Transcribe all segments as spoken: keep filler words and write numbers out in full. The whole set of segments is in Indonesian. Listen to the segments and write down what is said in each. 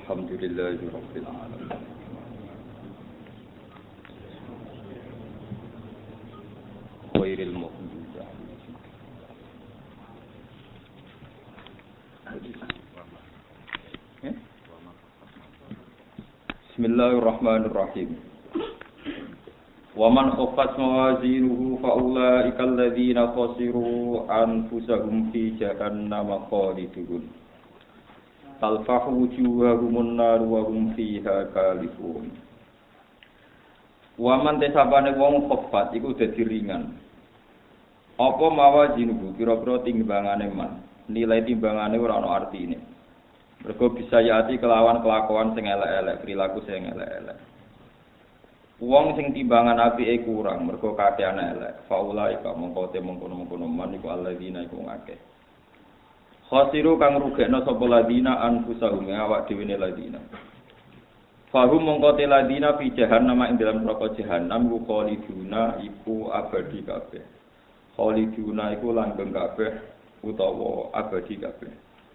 Alhamdulillahirabbil alamin. Khairil mu'minin. Bismillahirrahmanirrahim. Wa man khaffat mawazinuhu fa ulaika alladziina khasiru anfusahum fi jahannam khalidun. Talfahu wujuhahum an-nar wa hum fiha kalifun. Wa man tesabane wong khaffat iku dadi ringan. Apa mawazinuhu pira-pira timbangane man. Nilai timbangane ora ana artine. Mergo bisa yati kelawan kelakuan sing elek-elek, perilaku sing elek-elek. Wong sing timbangan apike kurang, mergo kakean elek. Faulai ka mongko te mongkon-mongkon man iku alladzina iku ngakeh. Khasiru kang rugekno sapa ladina anfusahum awak dhewe ne ladina. Fahum mongko te ladina fi jahannam ing dalam neraka jahannam ku khaliduna iku abadi kabeh. Khaliduna iku langgeng kabeh utawa abadi kabeh.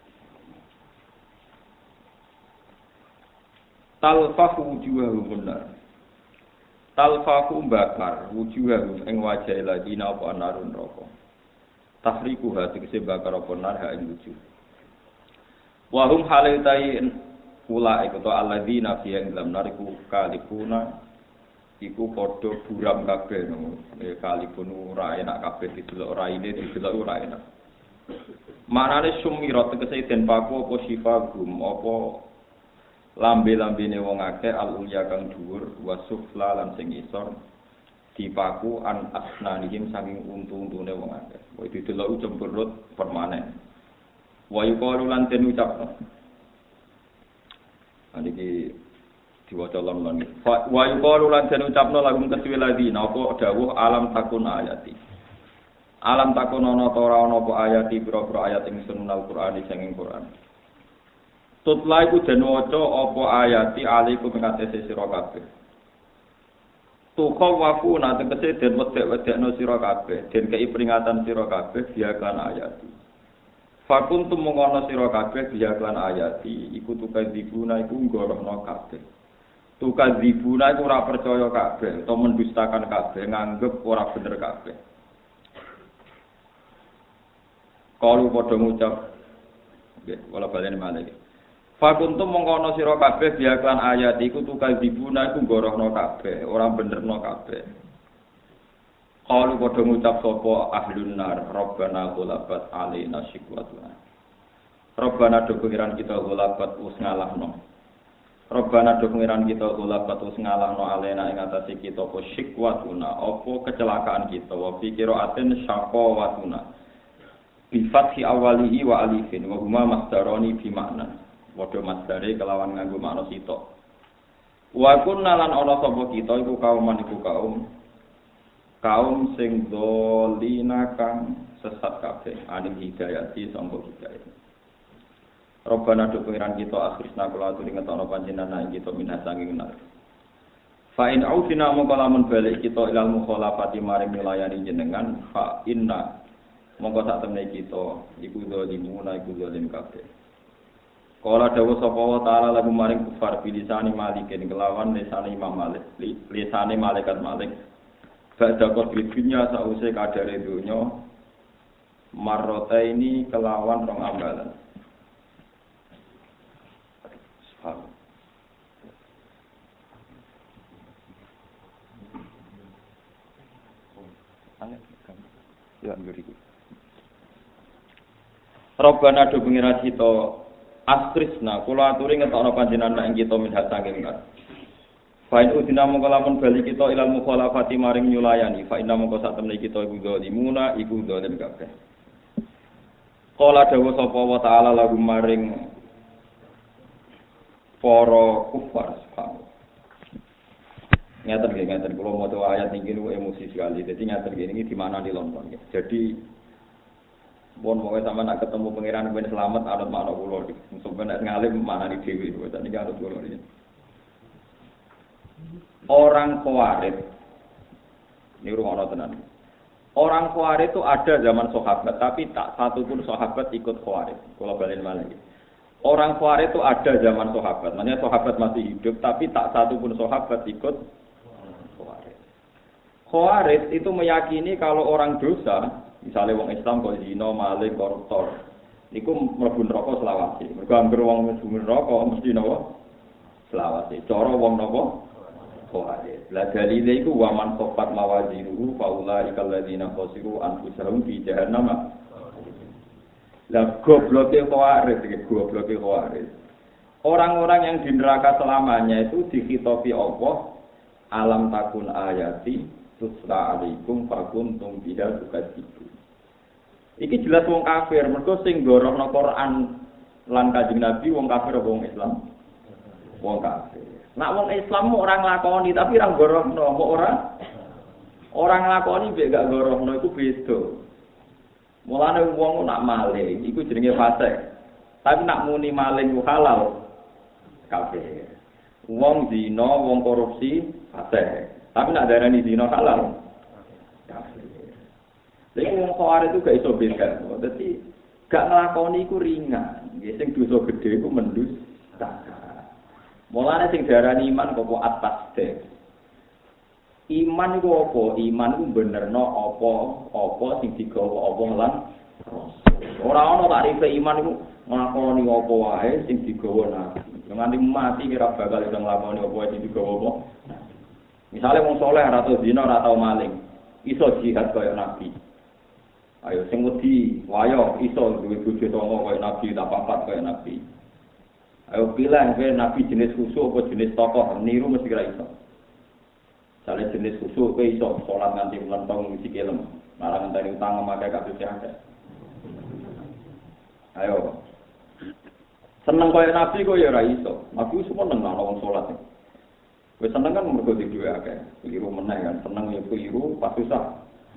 Talfahu wujuhahum benar. Talfahu bakar wujuhahum ing wajah ladina apa anarun neraka. Tahriku hati kese bakar apa nar ha ing wujuh. Wa hum halaitai ula iku to alladzina fi ing dalam nariku kalipuna iku padha buram kabeh no. E kalipun ora enak kabeh didelok raine didelok ora enak. Manane sumirat kese den paku apa sifa gum apa lambe-lambene wong akeh al-ulya kang dhuwur wasufla lan sing isor dipaku an asnanihim saking untu-untune wong akeh. Wa didelok cemberut permanen. Wa yuqalu lan den ucapno. Niki diwaca lan wa yuqalu lan den ucapno lagu kesuwe ladina apa dawuh alam takun ayati. Alam takun ana ta ora ana apa ayati pira-pira ayat ing sunal Qur'an sing Qur'an. Tutla iku den waca apa ayati alaikum ing atase sira kabeh. Tukaw wafu nanti kese den wedek-wedekno sira kabeh, den kei peringatan sira kabeh biaklan ayati. Fakuntum mengono sira kabeh biaklan ayati, iku tukadzibuna iku nggorohno kabeh. Tukadzibuna iku ora percaya kabeh, utawa mendustakan kabeh, nganggep ora bener kabeh. Kalu padha ngucap, nggih, wala balene malih. Fakuntum mengkono sira kabeh biaklan ayat iku tukal dibuna iku gorohno kabeh, ora benerno kabeh. Qalu padha ngucap sapa ahlun nar, Rabbana ghalabat alaina shiqwatuna. Rabbana do pengiran kita ghalabat us ngalahno. Rabbana do pengiran kita ghalabat us ngalahno alaina ing atase kita apa shiqwatuna, apa kecelakaan kita, wa fikiraatin syaqawatuna. Bi fathi awalihi wa alifin wa huma masdarani bi makna. Padha masdare kelawan nganggo makna sitok. Wa kunna lan ana sapa kita iku kauman iku kaum kaum sing dolina kang sesat kabeh aning hidayati sangka hidayah. Rabbana do pengiran kita akhirna kula aturi ngetokno panjenengan ing kita minah sanging nar. Fa in ausina mongko lamun balik kita ilal mukhalafati maring milayani jenengan fa inna mongko sak temne kita iku zalimuna iku zalim kabeh. Kala dawuh sapa wa taala lagu maring kufar bilisani malikin kelawan lisane Imam Malik, lisane malaikat Malik. Badha kodrinya sause kadare donya marrota ini kelawan rong ambalan. Subhan. Ya ngriku. Rabbana do pengira kita Askrisna, kula aturi ngetokno panjenengan ing kita minhat saking nar. Fa in udina mongko lamun bali kita ilal mukhalafati maring nyulayani, fa inna mongko sak temne kita iku zalimuna iku zalim kabeh. Qala dawuh sapa wa taala lagu maring para kufar subhanallah. Ngaten nggih ngaten kula maca ayat niki niku emosi sekali. Dadi ngaten nggih niki di mana di London nggih. Jadi bon mau sama nak ketemu pangeran ben selamat anut makna kula iki. Sampeyan nek ngalim maknane dhewe kok niki anut kula iki. Orang Khawarij ini rumono tenan. Orang Khawarij itu ada zaman sahabat tapi tak satu pun sahabat ikut Khawarij. Kula balen malih. Orang Khawarij itu ada zaman sahabat. Makanya sahabat masih hidup, tapi tak satu pun sahabat ikut Khawarij. Khawarij itu meyakini kalau orang dosa, misalnya wong Islam kok zina, maling, koruptor, niku mlebu neraka selawase. Mergo anggere wong mlebu neraka mesti napa? Selawase. Cara wong napa? Khawarij. La dalile iku wa man sofat mawazinuhu faula ikal ladzina khasiru anfusahum fi jahannam. Lah gobloke Khawarij, iki gobloke Khawarij. Orang-orang yang di neraka selamanya itu dikhitopi Allah, alam takun ayati tusla alaikum fakuntum biha tukadzibu. Iki jelas wong kafir, mergo sing gorohno Quran lan Kanjeng Nabi wong kafir apa wong Islam? Wong kafir. Nak wong Islam mau orang nglakoni tapi ora gorohno, mau ora orang nglakoni mek gak gorohno iku beda. Mulane wong nak maling iku jenenge fasik. Tapi nak muni maling ku halal kafir. Wong zina, wong korupsi fasik. Tapi nak darani zina halal kafir. Lha wong Khawarij itu gak iso beda. Dadi gak nglakoni iku ringan. Nggih sing dosa gedhe iku mendusta. Mulane sing diarani iman kok atas deh. Iman iku apa? Iman iku benerno apa-apa sing digawa apa lan ora ana tarife iman iku nglakoni apa wae sing digawa nabi. Nganti mati kira bakal iso nglakoni apa wae sing digawa apa. Misale wong saleh ora tau zina, ora tau maling, iso jihad kaya nabi. Ayo sing wedi, wayo iso duwe bojo tangga kaya nabi, tak papat kaya nabi. Ayo pilih kowe nabi jenis khusus apa jenis tokoh, niru mesti kira iso. Sale jenis khusus kowe iso salat nganti melentong sikilem, malah ngenteni utang memakai kabeh akeh. Ayo. Seneng kaya nabi kok ya ora iso. Nabi semua seneng ana wong salat. Kowe seneng kan mergo duwe akeh. Keliru meneh kan, seneng ya keliru pas susah.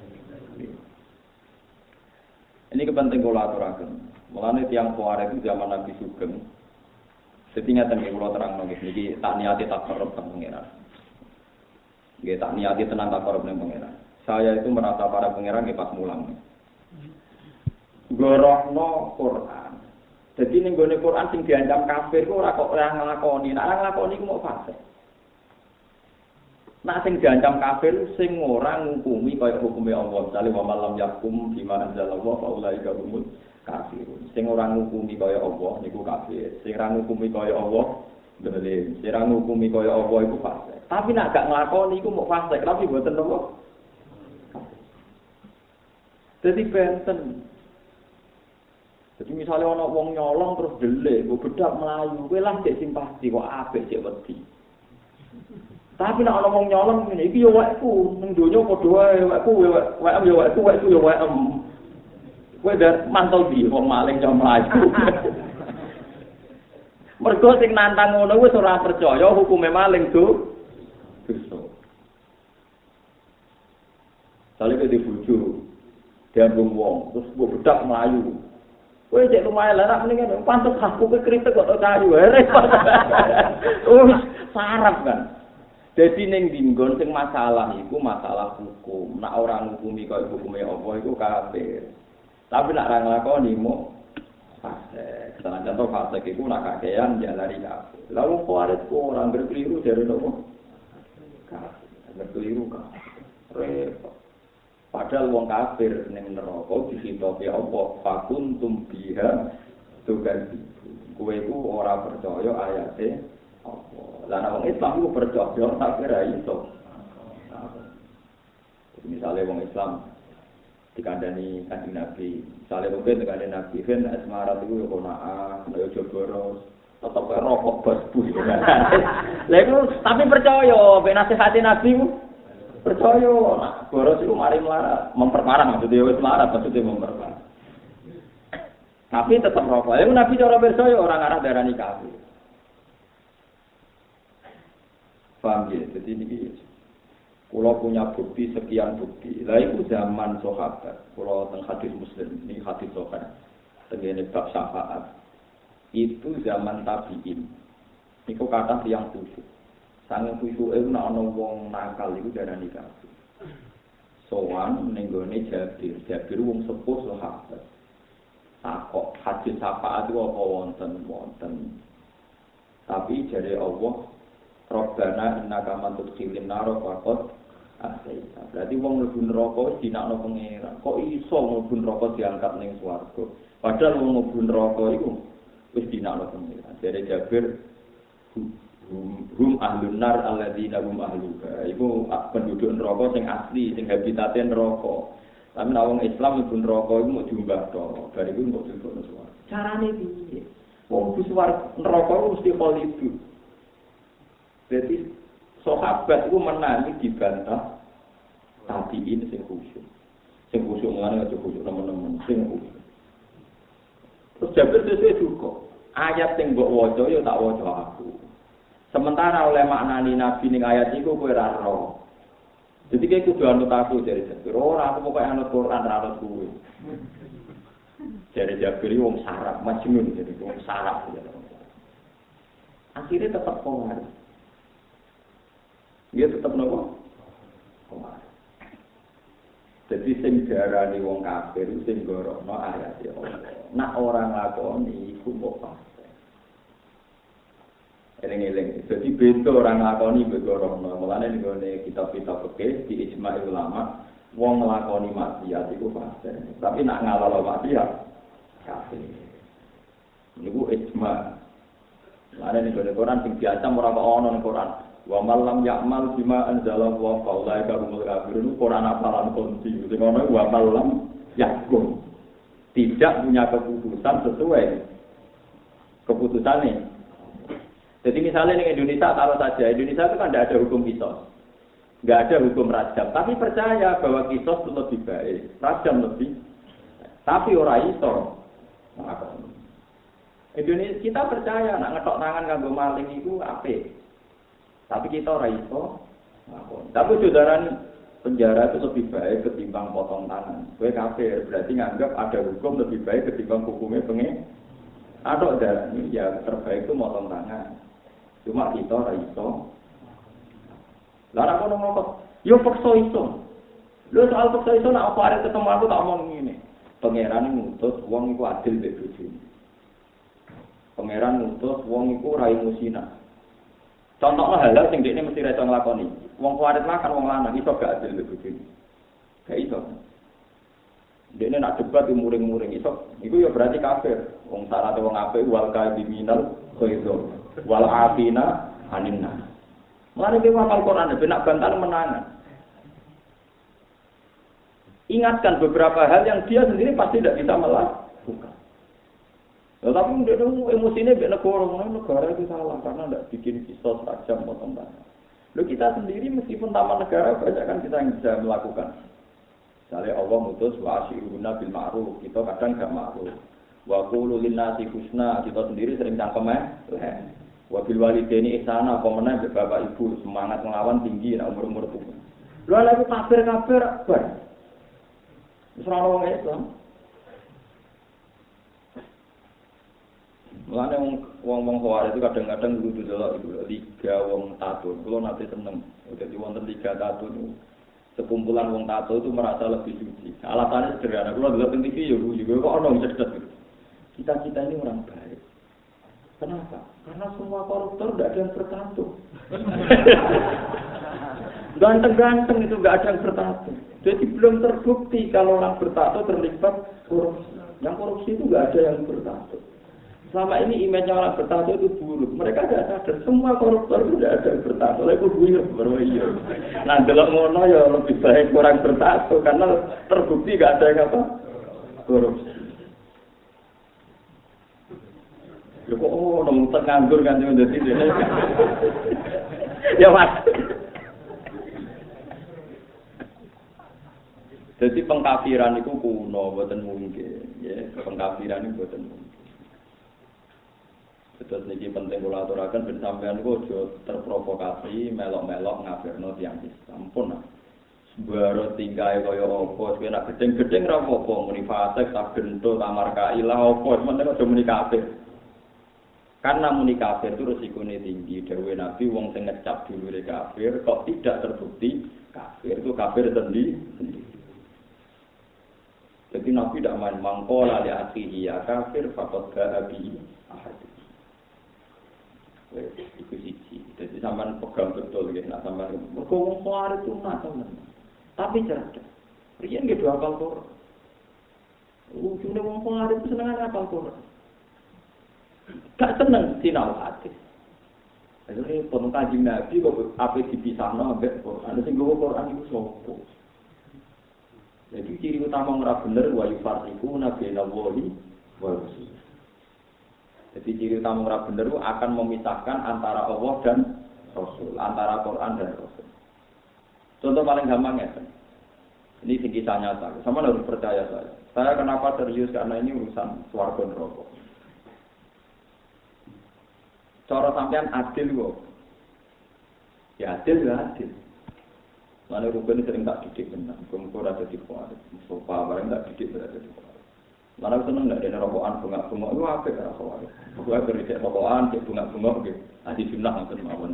Ini kepenting kula aturaken. Mulane tiyang Khawarij itu zaman Nabi Sugeng. Setingkat yang kula terang nggih niki tak niati tak korup teng pangeran. Nggih tak niati tenang tak korup ning pangeran. Saya itu merasa para pangeran nggih pas mulang. Gorohno Quran. Jadi ning gone Quran sing diancam kafir ku ora kok ora nglakoni. Nek ora nglakoni ku mau fasik. Nek sing diancam kafir sing ora ngukumi kaya hukume Allah. Misale wa malam yakum bima anzalallahu fa ulaika humul kafirun. Sing ora ngukumi kaya Allah niku kafir. Sing ora ngukumi kaya Allah bener. Sing ora ngukumi kaya Allah iku fasik. Tapi nek gak nglakoni iku mau fasik, tapi mboten apa. Dadi benten. Jadi misalnya ana wong nyolong terus delik, mbok bedak mlayu, kowe lah cek simpati kok apik cek wedi. Tapi nek ana wong nyolong ngene iki yo wekku, ning donya padha wae wekku wek yo wekku wekku yo wekem. Kowe dar mantel di wong maling jam mlayu. Mergo sing nantang ngono wis ora percaya hukume maling do dosa. Sale ke dibujuk, diambung wong, terus mbok bedak mlayu. Kowe cek lumayan lah, mendingan pantes aku ke kritik kok kayu, repot. Wis sarap kan. Dadi ning dinggon sing masalah iku masalah hukum. Nek ora ngukumi kaya hukume apa iku kafir. Tapi nek ora nglakoni mo fasik. Salah contoh fasik iku nek kakean jalari kafir. Lah wong Khawarij ku ora berkeliru dari nopo? Kafir. Berkeliru kafir. Repot. Padahal wong kafir ning neraka disitopi apa fakuntum biha tugan kowe iku ora percaya ayate apa. Lah wong Islam iku percaya tapi ora iso. Misale wong Islam dikandani Kanjeng Nabi, misale kowe dikandani Nabi ben asmarat iku yo konaa, yo joboros, tetep rokok bos bus. Lah iku tapi percaya ben nasihate Nabi percaya, nah, boros itu mari melarat, memperparah maksudnya wis melarat, maksudnya memperparah. Tapi tetap rokok. Lalu Nabi cara percaya orang arah darani kafir. Paham ya? Jadi ini kalau punya bukti sekian bukti. Lah itu zaman sahabat. Kalau teng hadis Muslim, ini hadis sahabat. Tengene bab syafaat. Itu zaman tabi'in. Niku kata yang khusyuk. Sange khusyuke nek ana wong nakal iku darani kafir. Sowan ning gone Jabir, Jabir wong sepuh sahabat. takok hadis syafaat itu apa wonten wonten. Tapi jare Allah Rabbana innaka man tudkhilin nar faqad asaita. Berarti wong mlebu neraka wis dinakno pangeran. Kok iso mlebu neraka diangkat ning swarga? Padahal wong mlebu neraka iku wis dinakno pangeran. Jare Jabir hum ahlun nar alladzina hum ahluha. Iku penduduk neraka sing asli, sing habitate neraka. Tapi nek wong Islam mlebu neraka iku mau diumbah to. Bar iku kok dilebokno swarga. Carane piye? Wong mlebu swarga neraka mesti kholidu. Jadi sahabat itu menangi dibantah tabiin sing khusyuk. Sing khusyuk ngene aja khusyuk teman-teman sing khusyuk. Terus Jabir sesuai juga. Ayat sing mbok waca ya tak waca aku. Sementara oleh maknani Nabi ning ayat iku kowe ora ro. Jadi kayak kudu anut aku dari Jabir. Ora aku pokoke anut Quran ora anut kowe. Dari Jabir wong sarap majnun jadi wong sarap. Akhirnya tetap kongar. Dia tetap nopo. Jadi sing diarani wong kafir sing gorono ayat ya Allah. Nak orang lakoni iku kok pasti. Eling-eling. Jadi beda orang lakoni begorono. Mulane nggone kitab-kitab fikih di ijma' ulama wong nglakoni maksiat iku pasti. Tapi nak ngalalo maksiat kafir. Niku ijma'. Mulane nggone Quran sing biasa ora kok ono ning Quran. Wa malam ya'mal bima anzala wa faulaika humul kafirun. Quran apalan kunci sing ono wa malam yakum. Tidak punya keputusan sesuai keputusannya. Jadi misalnya di Indonesia taruh saja, Indonesia itu kan tidak ada hukum kisos. Enggak ada hukum rajam, tapi percaya bahwa kisos itu lebih baik, rajam lebih. Tapi orang iso. Indonesia kita percaya nak ngetok tangan kanggo maling itu apik. Tapi kita ora iso. Tapi saudara penjara itu lebih baik ketimbang potong tangan. Kowe kafir, berarti nganggap ada hukum lebih baik ketimbang hukumnya pengen. Ada darah ini ya terbaik itu potong tangan. Cuma kita ora iso. Lah aku ngomong, yo paksa iso. Lho soal paksa iso nak apa arek ketemu aku tak omong ngene. Pangeran ngutus wong iku adil mbek bojone. Pangeran ngutus wong iku ora musina. Contohnya hal-hal sing dekne mesti ra iso nglakoni. Wong kuwarit makan wong lanang iso gak adil mbek bojone. Gak iso. Dekne nak debat muring-muring iso. Iku ya berarti kafir. Wong syarat wong apik wal kaiminal khairu wal afina aninna. Mulane ki hafal Quran ben nak bantal menangan. Ingatkan beberapa hal yang dia sendiri pasti tidak bisa melakukan. Tetapi dia itu emosinya biar negara, negara itu salah karena tidak bikin kisos tajam potong tangan. Lalu kita sendiri meskipun taman negara banyak kan kita yang bisa melakukan. Misalnya Allah mutus wa asyiruna bil ma'ruf, kita kadang enggak ma'ruf. Wa qulu linnasi husna, kita sendiri sering cangkem eh. Wa bil walidaini ihsana, apa meneh bapak ibu semangat melawan tinggi nek umur-umur tuwa. Lha lha kafir-kafir bar. Wis ora wong Islam. Mulane wong-wong Khawarij itu kadang-kadang kudu delok iku liga wong tato. Kulo nate seneng. Dadi wonten liga tato niku sekumpulan wong tato itu merasa lebih suci. Alasannya sederhana. Kulo delok teng T V yo juga kok ono cerdas gitu. Kita-kita ini orang baik. Kenapa? Karena semua koruptor tidak ada yang bertato. Ganteng-ganteng itu enggak ada yang bertato. Jadi belum terbukti kalau orang bertato terlibat korupsi. Yang korupsi itu enggak ada yang bertato. Selama ini image orang bertato itu buruk. Mereka tidak sadar semua koruptor itu tidak ada yang bertato. Lalu itu buyur baru iya. Nah delok ngono ya lebih baik orang bertato karena terbukti enggak ada yang apa korupsi. Ya kok oh nang nganggur kan yo dadi. Ya Mas. Jadi pengkafiran itu kuno, mboten mungkin. Ya, pengkafiran itu mboten mungkin. Terus niki penting kula aturaken ben sampean niku aja terprovokasi melok-melok ngafirno tiyang Islam pun. Baru tinggal kaya apa, kowe nak gedeng-gedeng ra apa-apa, muni fasik tak gento tamar kailah apa, sementara aja muni kafir. Karena muni kafir itu resikonya tinggi. Dawuh Nabi wong sing ngecap dulure kafir kok tidak terbukti kafir itu kafir sendiri. Jadi Nabi tidak main mangkola li akhihi ya kafir faqad ba'a bi ahad. Wes iku siji. Jadi sampean pegang betul nggih nek sampean mergo wong Khawarij itu macam tapi cerdas. Riyen nggih do hafal Quran. Ujungnya wong Khawarij itu seneng hafal Quran. Gak seneng sinau hadis. Jadi pun kaji Nabi kok apa dipisahno ambek Quran. Sing nggo Quran iku sapa? Jadi ciri utama ora bener wa yufarriqu nabiyana wahi wa rasul. Jadi ciri utama ora bener akan memisahkan antara Allah dan Rasul, antara Quran dan Rasul. Contoh paling gampang ya. Ini sing kisah nyata. Sama harus percaya saya. Saya kenapa serius karena ini urusan swarga neraka. Cara sampean adil kok. Ya adil ya adil. Mana rukun sering tak didik benar. Kumpul ada di kuat. Sofa barang tak didik berada di kuat. Mana seneng nggak ada rokokan bunga-bunga. Lu apa ya rokokan? Gua kerja rokokan, cek bunga-bunga gitu. Adi sunnah nggak mawon.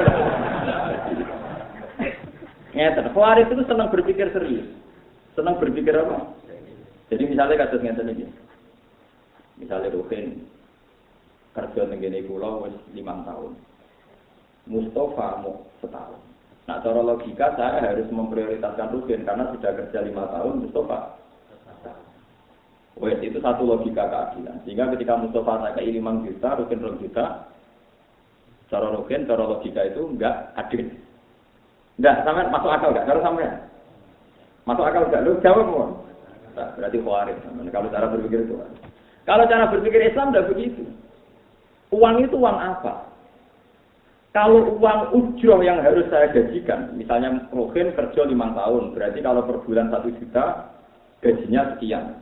Ngeten, Khawarij itu senang berpikir serius. Senang berpikir apa? Jadi misalnya kasus ngeten iki. Misalnya Rukin kerja tenggene kula wis lima tahun. Mustafa mau setahun. Nah, cara logika saya harus memprioritaskan Rukin karena sudah kerja lima tahun, Mustafa. Wes itu satu logika keadilan. Sehingga ketika Mustafa saya ke lima juta, Rukin dua juta, cara Rukin, cara logika itu enggak adil. Enggak, sampai masuk akal enggak? Kalau sampai masuk akal enggak? Lu jawab mohon. Nah, berarti Khawarij. Kalau cara berpikir itu. Kalau cara berpikir Islam enggak begitu. Uang itu uang apa? Kalau uang ujroh yang harus saya gajikan, misalnya Rohin kerja lima tahun, berarti kalau per bulan satu juta, gajinya sekian.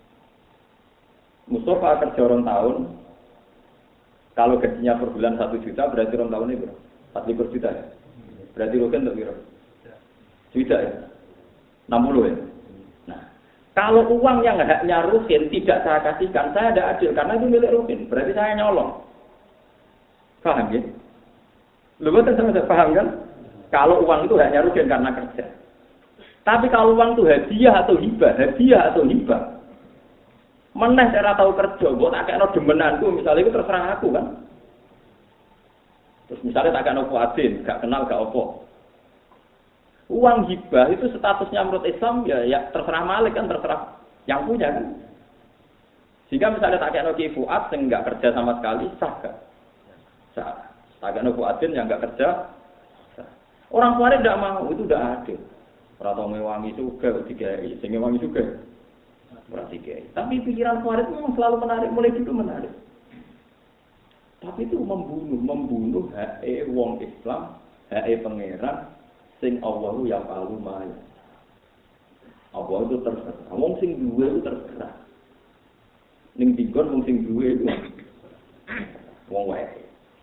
Mustafa kerja orang tahun, kalau gajinya per bulan satu juta, berarti orang tahun ini berapa? empat puluh juta ya? Berarti Rohin untuk berapa? Juta ya? enam puluh ya? Nah, kalau uang yang haknya Rohin tidak saya kasihkan, saya tidak adil, karena itu milik Rohin, berarti saya nyolong. Paham ya? Lu betul sama saya paham kan? Kalau uang itu hanya Rukin karena kerja. Tapi kalau uang itu hadiah atau hibah, hadiah atau hibah. Meneh cara tahu kerja, buat tak kena demenanku, misalnya itu terserah aku kan. Terus misalnya tak kena kuatin, gak kenal gak opo. Uang hibah itu statusnya menurut Islam ya, ya terserah Malik kan, terserah yang punya kan. Sehingga misalnya tak kena Ki Fuad, yang gak kerja sama sekali, sah gak? Sah. Agak nopo adil yang enggak kerja. Orang Khawarij tidak mau, itu tidak adil. Ora tau ngewangi juga digawe, sing ngewangi juga. Ora digawe. Tapi pikiran Khawarij memang selalu menarik, mulai dulu menarik. Tapi itu membunuh, membunuh hak wong Islam, hak pangeran sing Allahu ya palu maya. Allah itu terserah. Wong sing duwe itu terserah. Ning dikon wong sing duwe itu wong wae.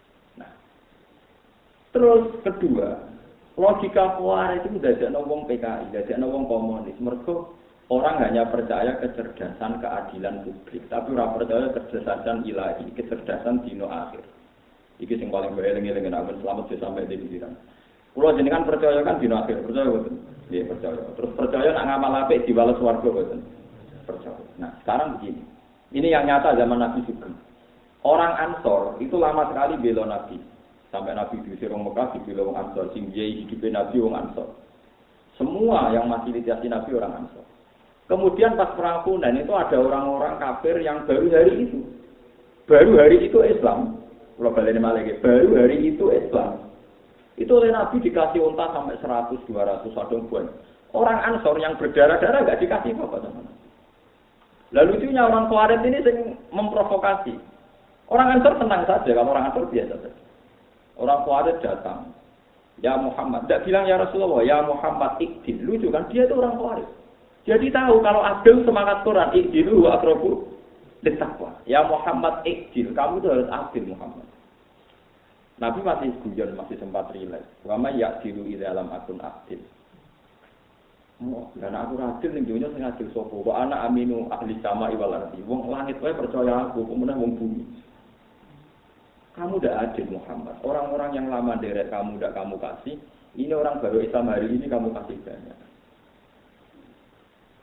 Terus kedua, logika Khawarij itu dadekno wong P K I, dadekno wong komunis. Mergo orang hanya percaya kecerdasan keadilan publik, tapi ora percaya kecerdasan ilahi, kecerdasan dino akhir. Iki sing paling eling-eling nek selamat sampai di pikiran. Kulo jenengan percaya kan dino akhir, percaya boten? Nggih, percaya. Terus percaya nek ngamal apik diwales swarga boten? Percaya. Nah, sekarang begini. Ini yang nyata zaman Nabi Sugeng. Orang Ansor itu lama sekali bela Nabi. Sampai Nabi diusir orang Mekah, dibela orang Ansor. Sing jai hidupnya Nabi orang Ansor. Semua yang masih ditiasi Nabi orang Ansor. Kemudian pas perang Hunain itu ada orang-orang kafir yang baru hari itu. Baru hari itu Islam. Kalau balik lagi, baru hari itu Islam. Itu oleh Nabi dikasih unta sampai seratus, dua ratus, ada buan. Orang Ansor yang berdarah-darah nggak dikasih apa-apa sama Nabi. Lalu itunya orang Khawarij ini yang memprovokasi. Orang Ansor tenang saja, kalau orang Ansor biasa saja. Orang Khawarij datang, ya Muhammad, tidak bilang ya Rasulullah, ya Muhammad ikdil, lucu kan, dia itu orang Khawarij. Jadi tahu kalau adil semangat Quran, ikdilu akrobu littaqwa. Ya Muhammad ikdil, kamu itu harus adil Muhammad. Nabi masih guyon, masih sempat rileks. Wama yakdilu ida alam akun adil. Oh, dan aku adil ning dunya sing adil sapa? Wa ana aminu ahli sama wal ardi. Wong langit wae percaya aku, kemudian wong bumi. Kamu tidak adil Muhammad. Orang-orang yang lama derek kamu tidak kamu kasih. Ini orang baru Islam hari ini kamu kasih banyak.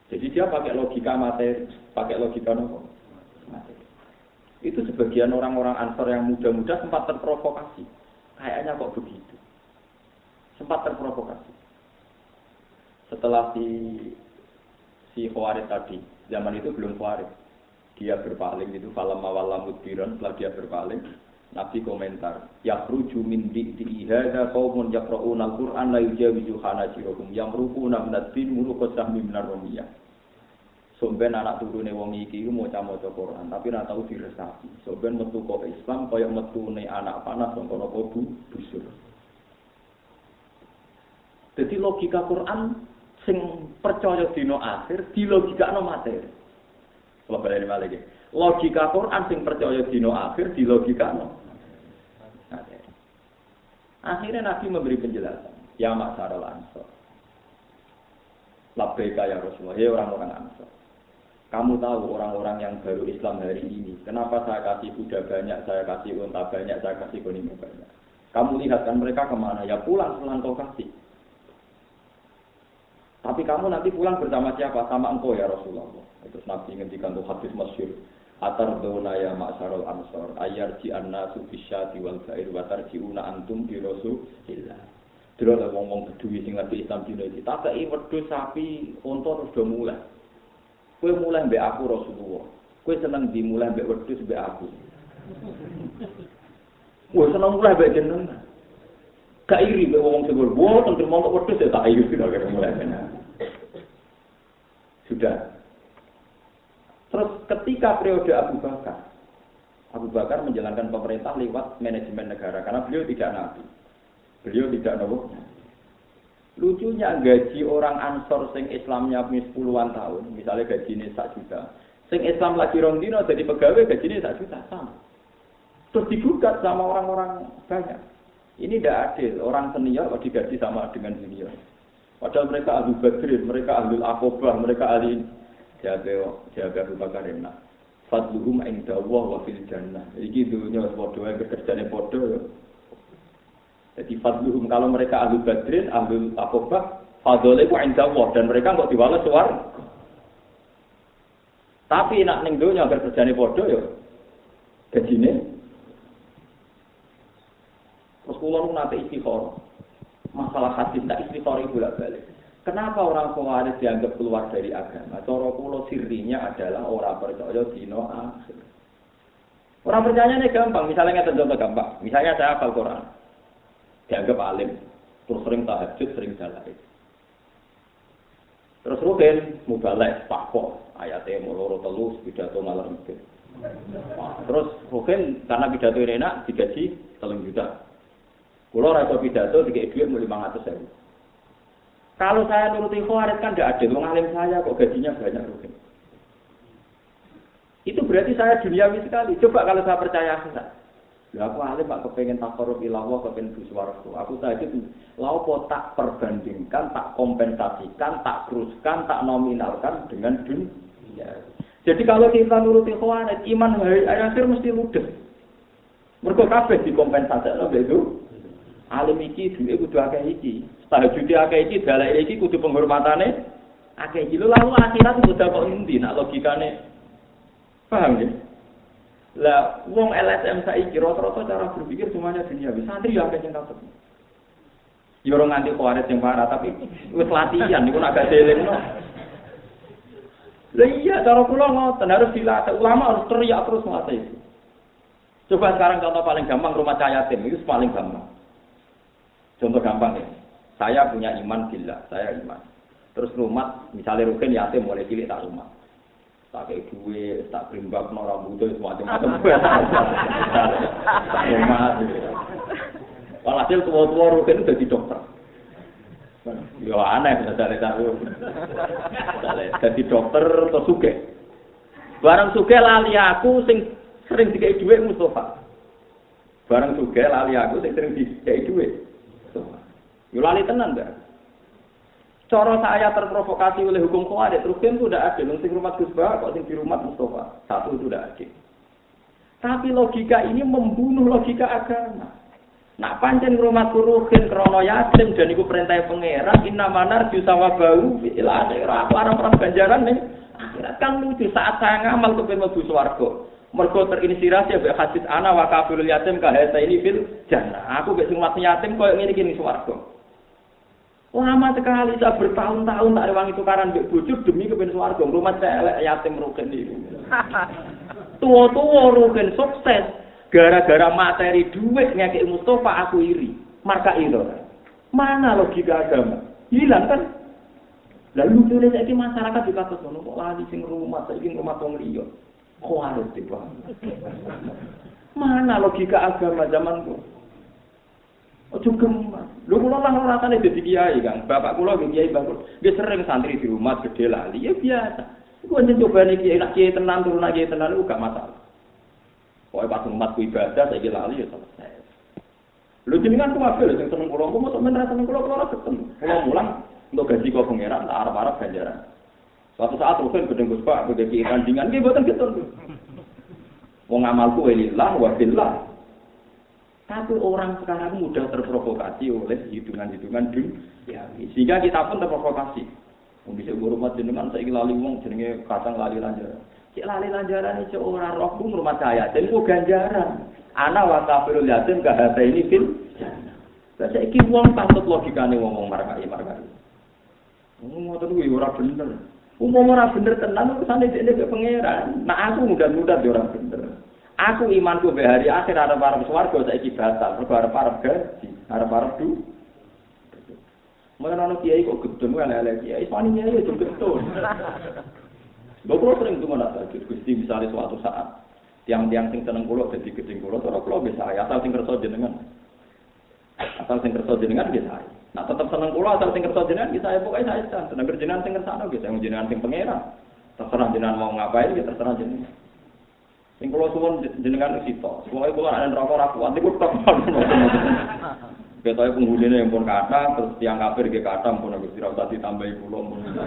Jadi dia pakai logika materi, pakai logika nopo materi. Itu sebagian orang-orang Ansor yang muda-muda sempat terprovokasi. Kayaknya kok begitu. Sempat terprovokasi. Setelah si si Khawarij tadi, zaman itu belum Khawarij. Dia berpaling itu falam mawalam mudbiran, setelah dia berpaling, Nabi komentar, yakhruju min di'i hadza qaumun yaqra'una al-Qur'an la yujawizu hanajirahum yamruquna min ad-din muruqat sahmi minar rumiyah. Somben anak turune wong iki maca-maca Quran, tapi ora tau diresapi. Somben metu kok Islam kaya metune anak panah saka napa busur. Jadi logika Quran sing percaya dina akhir dilogikakno materi. Kalau balik lagi, logika Quran sing percaya dino akhir di logika no. Akhirnya Nabi memberi penjelasan. Ya Ma'syaral Ansor. Labbaika ya Rasulullah. Ya orang-orang Ansor. Kamu tahu orang-orang yang baru Islam hari ini. Kenapa saya kasih kuda banyak, saya kasih unta banyak, saya kasih kuning banyak. Kamu lihat kan mereka kemana? Ya pulang pulang kau kasih. Tapi kamu nanti pulang bersama siapa? Sama engkau ya Rasulullah. Terus Nabi ngendikan tuh hadis masyhur. Atar dona ya ma'syarul ansor ayarji annasu bisyati wal ba'ir wa tarjiuna antum bi Rasulillah. Dene ada wong-wong kedue sing ngerti Islam dina iki. Takei wedhus sapi unta terus do mulai. Kowe mulai mbek aku Rasulullah. Kowe seneng dimulai mbek wedhus mbek aku. Kowe seneng mulai mbek jenengan. Gak iri mbek wong sing boten tentu mau wedhus ya tak iri kira-kira mulai. Sudah. Terus ketika periode Abu Bakar, Abu Bakar menjalankan pemerintah lewat manajemen negara karena beliau tidak nabi, beliau tidak nabi. Lucunya gaji orang Ansor sing Islamnya punya sepuluhan tahun, misalnya gajinya satu juta, sing Islam lagi rong dino jadi pegawai gajinya satu juta sama. Terus digugat sama orang-orang banyak. Ini tidak adil, orang senior kok digaji sama dengan junior. Padahal mereka ahli Badrin, mereka ahli Aqobah, mereka ahli jaga jaga Abu Bakar enak. Fadluhum inda Allah wa fil jannah. Iki dunya padha wae kerjane padha. Jadi fadluhum kalau mereka ahli Badrin, ahli Aqobah, fadlule ku inda Allah dan mereka kok diwales swarga. Tapi nak ning dunya kerjane padha ya gajine. Terus kula nu nate istikharah. Masalah hadis tak istikharah bolak-balik. Kenapa orang Khawarij dianggap keluar dari agama? Cara kula sirinya adalah orang percaya dina akhir. Orang percayanya gampang, misalnya ngeten contoh gampang. Misalnya saya hafal Quran. Dianggap alim, terus sering tahajud, sering dalail. Terus rugen mubalagh pakpo, ayate loro telu pidato malam itu. Terus rugen karena pidato enak digaji telung juta. Kula ora iso pidato dikek dhuwit lima ratus ribu. Kalau saya nuruti Khawarij kan tidak ada, wong alim saya kok gajinya banyak rugi. Itu berarti saya duniawi sekali. Coba kalau saya percaya saya. Ya aku alim Pak kepengen takarrub ila Allah, kepengen buswarga. Aku tadi laopo tak perbandingkan, tak kompensasikan, tak teruskan, tak nominalkan dengan dunia. Jadi kalau kita nuruti Khawarij, iman hari akhir mesti ludes. Mergo kabeh dikompensasikno itu. Alim iki duwe kudu akeh iki. Tahajud akeh iki, dalil iki kudu penghormatane akeh iki. Lalu akhirat kudu kok endi nak logikane. Paham ya? Lah wong L S M saiki rata-rata cara berpikir semuanya dunia. Santri ya akeh sing takut. Ya ora nganti Khawarij sing parah, tapi wis latihan niku agak delengno. Lah iya cara kula ngoten harus dilatih, ulama harus teriak terus ngate itu. Coba sekarang contoh paling gampang rumah yatim itu paling gampang. Contoh gampang ya. Saya punya iman billah, saya iman. Terus rumah, misalnya rugen yatim mulai cilik tak rumah. Tak kayak duit, tak berimbak, no rambutnya, semacam-macam. Tak rumah. Walhasil tua-tua rugen itu jadi dokter. Ya aneh, misalnya tahu. Jadi dokter atau suge. Barang suge lali aku, sing sering dikei duit Mustafa. Barang suge lali aku, sing sering dikei duit. Yo lali tenan enggak? Cara saya terprovokasi oleh hukum Khawarij, terus kan itu udah ada, sing rumah Gus Bah, kok sing di rumah Mustafa. Satu itu udah ada. Tapi logika ini membunuh logika agama. Nak pancen ngrumat ruhin krana yatim dan iku perintah pangeran inna manar jusawa bau fil akhirat ora ganjaran ning akhirat kan lucu saat saya ngamal kepen mlebu swarga. Mergo terinspirasi ambek hadis ana wa kafirul yatim ka hata ini fil jannah. Aku gek sing mati yatim koyo ngene iki ning swarga. Lama sekali saya bertahun-tahun tak rewangi tukaran mbek bojo demi kepen swarga. Rumah saya elek yatim rugen iki. Tua-tua rugen sukses. Gara-gara materi duit ngekek Mustafa aku iri. Marka itu. Mana logika agama? Hilang kan? Lalu lucunya saiki masyarakat juga ngono kok lali sing rumah saiki rumah wong liya. Kok harus tiba. Mana logika agama zamanku? Ojo gemas. Lho kula lah rasane dadi kiai, Kang. Bapak kula nggih kiai bagus. Dia sering santri di rumah gede lali ya biasa. Iku njen cobane kiai nak kiai tenan turun kiai tenan iku gak masalah. Pokoke pas umatku ibadah saiki lali ya selesai. Lho jenengan ku apik lho sing seneng kula, kok mosok men ra seneng kula kula ketemu. Kula mulang untuk gaji kok pangeran tak arep-arep ganjaran. Suatu saat rugen gedeng Gus Pak gede ki kandingan nggih mboten ketun. Wong amalku lillah wa billah. Tapi orang sekarang mudah terprovokasi oleh hitungan-hitungan dunia. Sehingga kita pun terprovokasi. Wong bisa ngurmat jenengan saiki lali wong jenenge kadang lali lanjaran. Cek lali lanjaran iki ora rohku ngurmat saya, den ku ganjaran. Ana wa kafirul yatim ka hata ini fil. Lah saiki wong patut logikane ngomong markai-markai. Ngomong ngoten kuwi ora bener. Umum ora bener tenan kesane dekne ke pangeran. Nah aku mudah-mudah ora bener. Aku imanku be hari akhir arep-arep swarga saiki batal, mergo arep-arep gaji, arep-arep du. Mana ana kiai kok gedhen wae elek kiai, wani kiai yo gedhen. Lho kula sering tunggu nak tajud Gusti misale suatu saat tiang-tiang sing seneng kula dadi gedeng kula ora kula bisa asal sing kersa jenengan. Asal sing kersa jenengan nggih saya. Nah tetep seneng kula asal sing kersa jenengan nggih saya pokoke saya san. Seneng jenengan sing kersane nggih saya jenengan sing pangeran. Terserah jenengan mau ngapain nggih terserah jenengan. Sing kula suwun jenengan sito. Pokoke kula ana neraka ora kuat niku tok. Ketoke penghuline pun kathah terus tiang kafir nggih kathah pun Gusti ora usah ditambahi kula.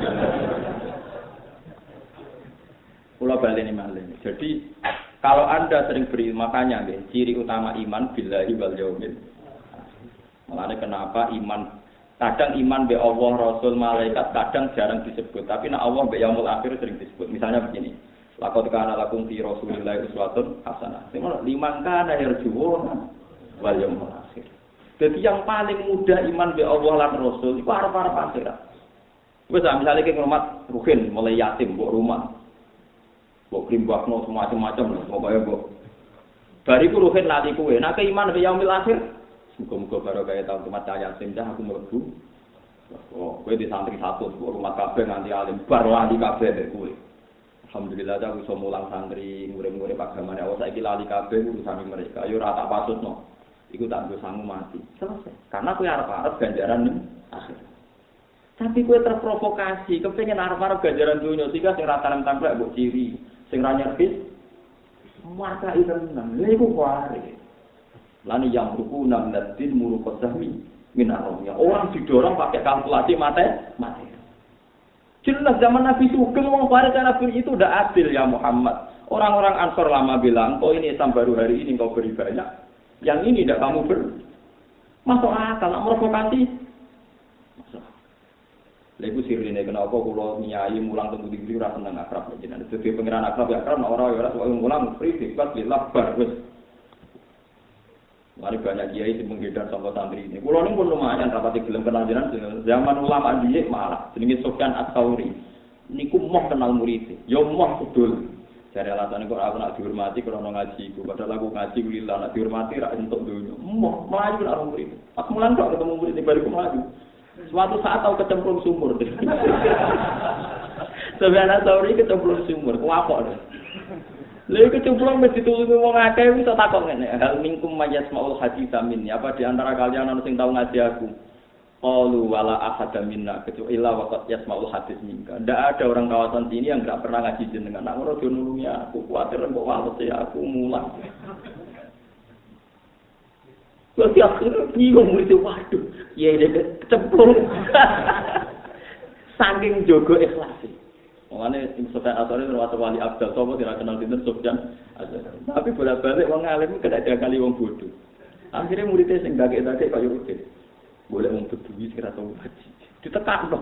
Kula baleni malih. Jadi kalau Anda sering beri makanya nggih ciri utama iman billahi wal yaumil. Makanya kenapa iman kadang iman be Allah, Rasul, malaikat kadang jarang disebut, tapi nek Allah be yaumul akhir sering disebut. Misalnya begini. Laqad kana lakum fi Rasulillahi uswatun hasanah. Sing liman kana yarjuuna wal yaumil akhir. Jadi yang paling mudah iman be Allah lan Rasul iku arep-arep akhirat. Wis misale ki ngurmat ruhin mulai yatim mbok rumah. Mbok krimbakno semacam-macam pokoke mbok. Bariku ruhin lati kuwe. Nek iman be yaumil akhir muga-muga karo kaya tau umat yatim dah aku mlebu. Oh, kowe di santri satu mbok rumah kabeh nganti alim bar lali kabeh kowe. Alhamdulillah aku iso mulang santri murid-murid agamane Allah saiki lali kabeh urusan mereka. Yo ora tak pasutno. Iku tak nggo sangu mati. Selesai. Karena kowe arep-arep ganjaran ning akhir. Tapi kowe terprovokasi, kepengin arep-arep ganjaran dunya sehingga sing rata-rata templek mbok ciri, sing ra nyervis marka tenan. Lha iku kuwi. Lani yang ruku nang nadin muruqas sahmi minaromnya. Orang didorong pakai kalkulasi mate, mate. Jelas zaman Nabi Sugeng wong Farid Nabi itu udah adil ya Muhammad. Orang-orang Ansor lama bilang, "Oh ini Islam baru hari ini kau beri banyak. Yang ini tidak kamu ber." Masuk akal, nak provokasi. Masuk. Lha iku sirine kenapa kula nyai mulang teng ndi-ndi ora seneng akrab jenengan. Dadi pengiran akrab ya akrab ora ora ora mulang free bebas lillah bar wis. Mari banyak kiai sing menggedar sama santri ini. Kulo niku pun lumayan rapati gelem kenal jenengan zaman ulama dhisik malah jenenge Sufyan Ats-Tsauri. Niku moh kenal murid. Yo moh kudul. Jare alasane kok aku nak dihormati krana ngaji iku. Padahal aku ngaji lillah nak dihormati ra entuk donya. Moh mlayu karo murid. Pas mulan kok ketemu murid ning bariku mlayu. Suatu saat tau kecemplung sumur. Sufyan Ats-Tsauri kecemplung sumur. Kuwapok. Lha iku cemplung mesti ditulungi wong akeh wis takok ngene. Hal minkum mayasmaul hadits min. Apa di antara kalian ana sing tau ngaji aku? Qalu wala ahada minna kecuali illa waqad yasmaul hadits minka. Ndak ada orang kawasan sini yang enggak pernah ngaji jenengan. Nak ngono nulungi aku, kuwatir kok wales ya aku mulang. Wes akhirnya bingung murid waduh, ya dek cemplung. Saking jogo ikhlas. Mane Sufyan Ats-Tsauri termasuk wali abdal sapa tidak kenal dinten Sufyan Ats-Tsauri. Tapi bolak-balik wong alim kena kali wong bodoh. Akhirnya muridnya sing gagek-gagek kaya rutin. Boleh wong beduwi sing ora tau haji. Ditekakno.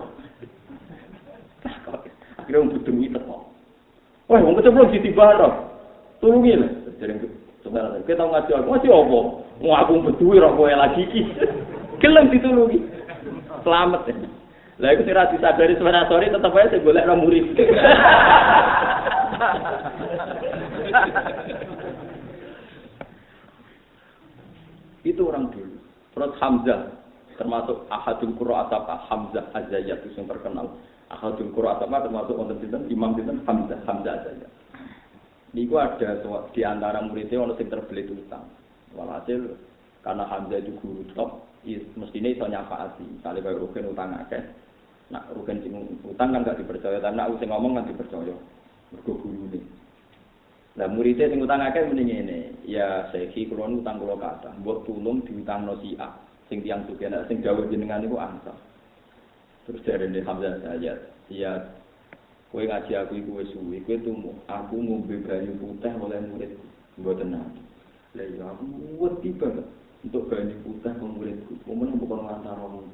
Akhirnya wong beduwi teko. Wah, wong kecemplung ditibano. Tulungi lho. Jadi coba kita tahu ngaji aku, ngaji apa? Mau aku beduwi rok kowe lagi iki. Gelem ditulungi. Selamat ya. Lah iku sing ra disadari sebenarnya sore tetep ae sing golek ra murid. Itu orang dulu. Terus Hamzah termasuk ahadul qurra asaba Hamzah Az-Zayyat yang terkenal. Ahadul qurra asaba termasuk wonten sinten Imam sinten Hamzah Hamzah Az-Zayyat. Niku ada di antara muridnya ono sing terbelit utang. Walhasil karena Hamzah itu guru top, mestinya iso nyafaati. Kali kaya rugen utang akeh. Nak rugen sing utang kan gak dipercaya, tapi nak sing ngomong kan dipercaya. Mergo gurune. Lah muridé sing utang akeh muni ngene, ya Syekhi kula utang kula kathah, mbok tulung diutangno si A. Sing tiyang sugih nek sing dawuh jenengan niku ansah. Terus jarene Hamzah ayat, ya kowe ngaji aku iku wis suwi, kowe tumu, aku ngombe banyu putih oleh muridku. Mboten nate. Lah ya aku wedi banget untuk banyu putih wong muridku. Momen bukan ngantar wong.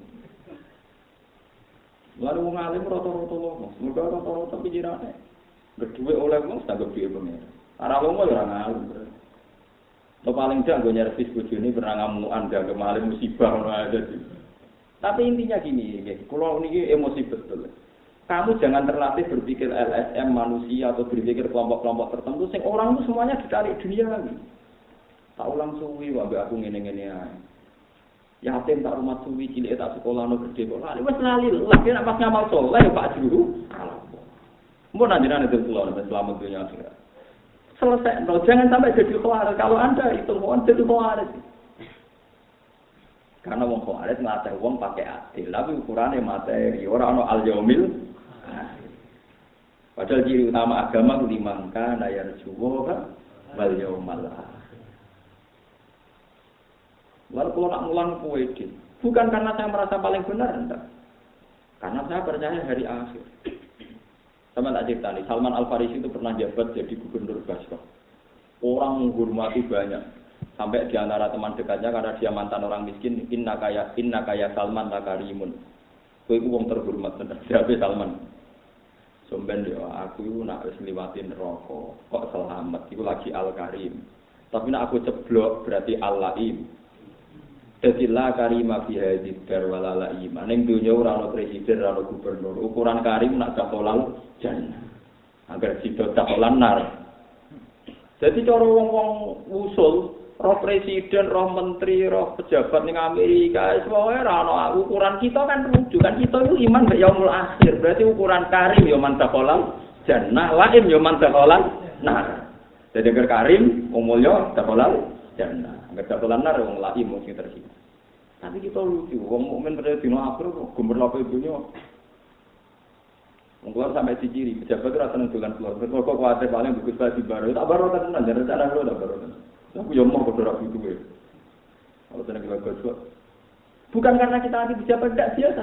Lalu wong alim rata-rata lomo, mergo rata-rata pikirane. Berduwe oleh wong tanggap duwe pengen. Ora lomo ya ora ngalem. Lo paling jak nggo nyervis bojone pernah ngamukan gak kemarin musibah ngono aja sih. Tapi intinya gini, nggih, kula niki emosi betul. Kamu jangan terlatih berpikir L S M manusia atau berpikir kelompok-kelompok tertentu sing orang itu semuanya ditarik dunia lagi. Tak ulang suwi wae aku ngene-ngene ae. Yatim tak rumah suwi cilik tak sekolah no gede kok. Lah wis lali lagi nek pas ngamal saleh ya Pak Juru. Mun anjenengan itu kula nek selamat dunia akhirat. Selesai, no, jangan sampai jadi khawarij. Kalau Anda itu mohon jadi khawarij. Karena wong khawarij ngelatih wong pakai adil, tapi ukurannya materi, orang no al yaumil. Padahal ciri utama agama liman kana yarjuwa wal yaumal akhir. Lalu kalau nak mulang kowe iki, bukan karena saya merasa paling benar enggak. Karena saya percaya hari akhir. Sama tak cerita nih, Salman Al-Farisi itu pernah jabat jadi gubernur Basra. Orang menghormati banyak. Sampai di antara teman dekatnya karena dia mantan orang miskin, inna kaya inna kaya Salman takarimun. Kowe iku wong terhormat bener. Siapa Salman? Somben yo aku iku nak wis ngliwati neraka, kok selamat iku lagi Al-Karim. Tapi nak aku ceblok berarti Al-Laim. Dadi la karima fi hadhihi dar wala laima. Ning donya ora ana presiden, ora ana gubernur. Ukuran karim nak dakholal jannah. Agar sida dakholan nar. Jadi cara wong-wong usul, roh presiden, roh menteri, roh pejabat ning Amerika, semuanya ora ana ukuran kita kan rujuk kan kita itu iman mek yaumul akhir. Berarti ukuran karim ya man dakholal jannah, laim ya man dakholal nar. Jadi agar karim umulya dakholal jannah. Enggak dakholan nar wong laim mung sing tersisa. Tapi kita lucu, wong mukmin pada dina akhir kok gemerlap dunya. Wong keluar sampai ciri, pejabat ora seneng dolan keluar. Kok kok kuwate paling bagus bagi baru. Tak baru tenan, jan rencana kula tak baru tenan. Aku yo mau padha ra duwe. Kalau seneng bagus kok. Bukan karena kita anti pejabat tidak biasa.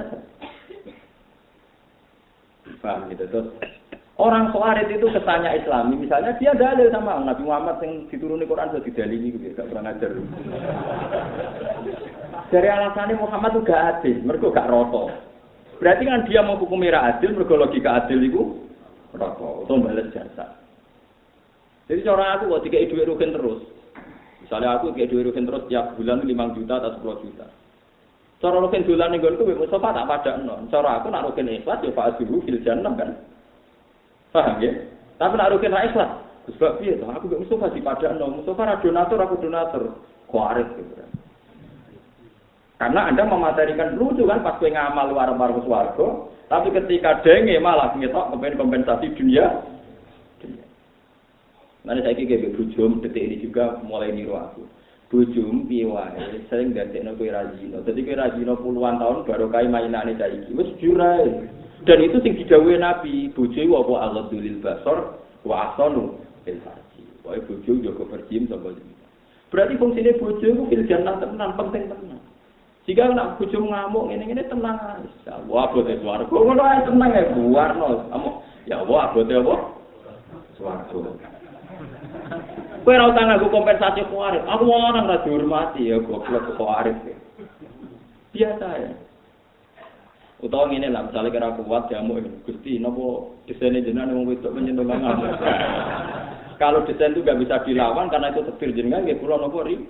Paham gitu terus. Orang Khawarij itu kesannya Islami, misalnya dia dalil sama Nabi Muhammad yang dituruni Quran sudah didalili gitu, gak pernah ngajar. Dari alasannya Muhammad itu gak adil, mereka gak roto. Berarti kan dia mau hukum merah adil, mereka logika adil itu roto, atau balas jasa. Jadi cara aku kok tiga duit rugen terus. Misalnya aku tiga duit rugen terus tiap bulan lima juta atau sepuluh juta. Cara rugen bulan nih gue itu Mustafa tak pada non. Cara aku nak rugen ikhlas ya Pak Azhuru fil jannah kan. Paham ya? Tapi nak rugen ra ikhlas. Sebab piye to? Aku gak Mustafa dipadakno. Mustafa ra donatur, aku donatur. Khawarij gitu kan. Karena Anda mematerikan lucu kan pas kowe ngamal warung-warung swarga, tapi ketika denge malah ngetok kepen kompensasi dunia. Mana saiki ge bojom detik ini juga mulai niru aku. Bojom piye wae sering dadekno kowe rajino. Dadi kowe rajino puluhan tahun baru kae mainane saiki. Wis jurae. Dan itu sing didhawuhi Nabi, bojo apa Allah dzulil basar wa ahsanu fil farji. Wae bojo yo kepercim sapa iki. Berarti fungsine bojo iku fil jannah tenan, penting tenan. Jika nak bojo ngamuk ngene-ngene tenang ae. Wah, abote swarga. Ngono ae tenang ae buarno. Ya Allah, abote apa? Swarga. Kowe ora usah nganggo kompensasi kuarif. Aku wong orang ra dihormati ya goblok kuarif. Biasa ya. Utawa ngene lah, misalnya kira kuat jamu Gusti, napa desainnya jenengan wong wedok menyentuh mangan. Kalau desain itu nggak bisa dilawan karena itu takdir jenengan, nggih kula napa ri.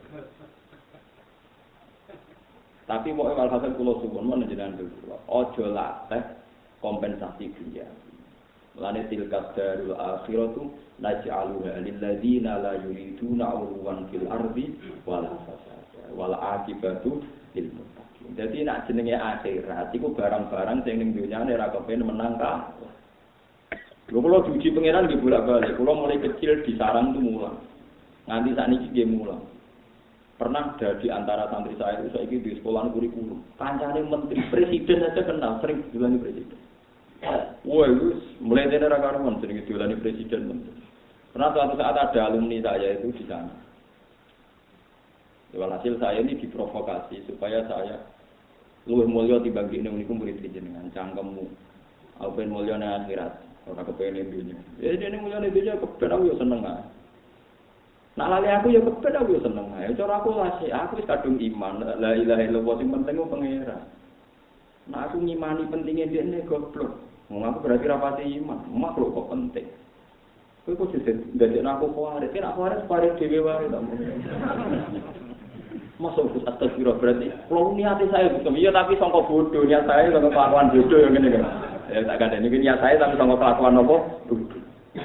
Tapi mau walhasil kula suwun men jenengan kula. Aja latih kompensasi dunia. Lane tilka darul akhiratu naj'aluha lil ladzina la yuriduna 'uluwan fil ardi wala fasada wala akibatu lil muttaqin. Jadi nak jenenge akhirat iku barang-barang sing ning dunyane ora kepen menang ka. Lho kula diuji pangeran nggih bolak-balik. Kula mulai kecil di sarang tuh mulang. Nganti sakniki nggih mulang. Pernah ada di antara santri saya itu saiki di sekolah kurikulum. Kancane menteri presiden aja kenal, sering dilani presiden. Wah, itu mulai dari rakaman sering dilani presiden menteri. Pernah suatu saat ada alumni saya itu di sana. Walhasil saya ini diprovokasi supaya saya luwih mulya dibagi ning niku murid jenengan cangkemmu. Aku ben mulya nang akhirat, ora kepengin dunya. Ya dene mulya ning dunya kepen aku yo seneng ae. Nak lali aku yo kepen aku yo seneng ae. Cara aku lasi, aku wis kadung iman, la ilaha illallah sing penting ku pangeran. Nah aku ngimani pentingnya dene goblok. Wong aku berarti ra pati iman, makhluk kok penting. Kowe kok sing ndadekno aku kuwarit, nek kuwarit kuwarit dhewe wae ta. Masuk ke atas biro berarti, kalau niat saya betul, iya tapi sangka bodoh, niat saya sangka kelakuan bodoh yang ini kan. Ya tak ada, ini niat saya tapi sangka kelakuan apa? Bodoh.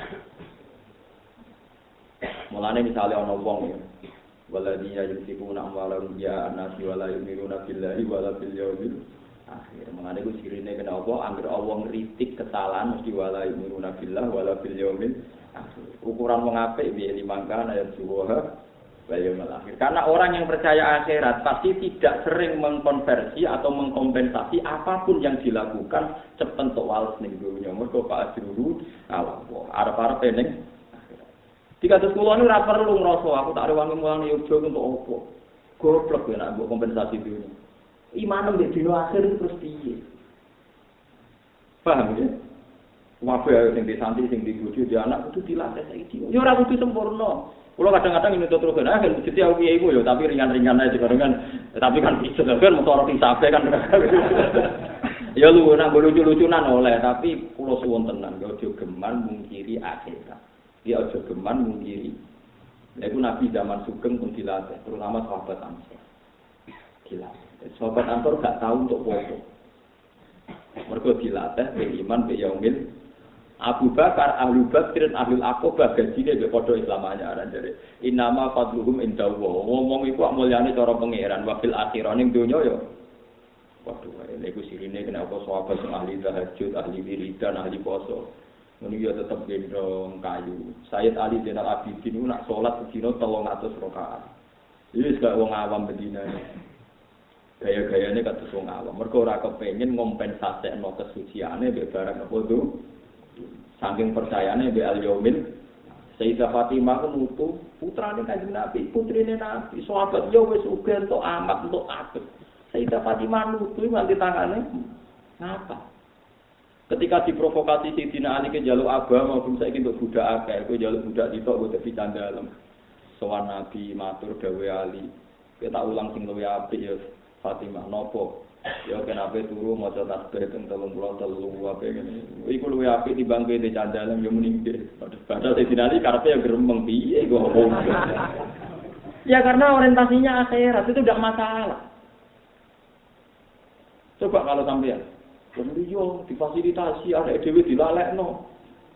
Mulanya misalnya orang wong ya, waladiyya yusifuna amwalahum ya anasi wala yu'minuna billahi wala bil yawmil akhir. Mulanya itu sirine kenapa? Angger Allah ngritik kesalahan mesti wala yu'minuna billahi wala bil yawmil akhir. Ukuran wong apik piye limangkan ayat suwah Bayamul akhir. Karena orang yang percaya akhirat pasti tidak sering mengkonversi atau mengkompensasi apapun yang dilakukan cepet tok wales ning dunya. Mergo Pak Ajruru Allah. Arep-arep ning akhirat. Dikados kula niku ora perlu ngrasa aku tak rewangi mulang yoga untuk opo. Goblok ya nek mbok kompensasi dunya. Iman nek dina akhir terus piye? Paham ya? Wae sing disantri sing dibojo di anak kudu dilatih saiki. Ya ora kudu sempurna. Kalau kadang-kadang ini terus kan, akhir jadi aku ibu ya, tapi ringan-ringan aja kan, tapi kan bisa kan motor disape kan, ya lu nak lucu-lucunan oleh, tapi pulau suwon tenan, gak ojo geman mungkiri akhirat, dia ojo geman mungkiri, itu Nabi zaman Sugeng pun dilatih, terutama sahabat Ansor, gila, sahabat Ansor gak tahu untuk foto, mereka dilatih beriman beyaumil. Abu Bakar, Ahlu Badr, Ahlul Aqobah gajine mbek padha Islamane aran jare. Innama fadluhum indallah. Ngomong iku mulyane cara pangeran wa fil akhirah ning donya ya. Waduh, niku sirine kenapa sahabat sing ahli tahajud, ahli wiridan, ahli poso. Ngono ya tetep gendong kayu. Sayyid Ali Zainal Abidin niku nak salat sedina telung atus rakaat. Iki wis gak wong awam bedinane. Gaya-gayane kados wong awam. Mergo ora kepengin ngompensasekno kesuciane mbek barang apa tuh. Saking percayane be al yaumil Sayyidah Fatimah ku nutu putrane Kanjeng Nabi, putrine Nabi, sahabat yo wis uga entuk amat entuk apik. Sayyidah Fatimah nutu nganti tangane ngapa? Ketika diprovokasi Sayyidina Ali ke jaluk abah maupun saiki untuk budak akeh, kowe jaluk budak ditok kok dadi candalem. Sowan Nabi matur dawuh Ali, kita ulang sing luwih apik ya Fatimah nopo? Ya kenapa turu maca tasbih teng telung puluh telu apa ngene. Iku luwih apik timbang kowe candalem yo muni nggih. Padahal Sayyidina Ali karepe ya gremeng piye kok. Ya karena orientasinya akhirat itu tidak masalah. Coba kalau sampean yo difasilitasi ada dhewe dilalekno.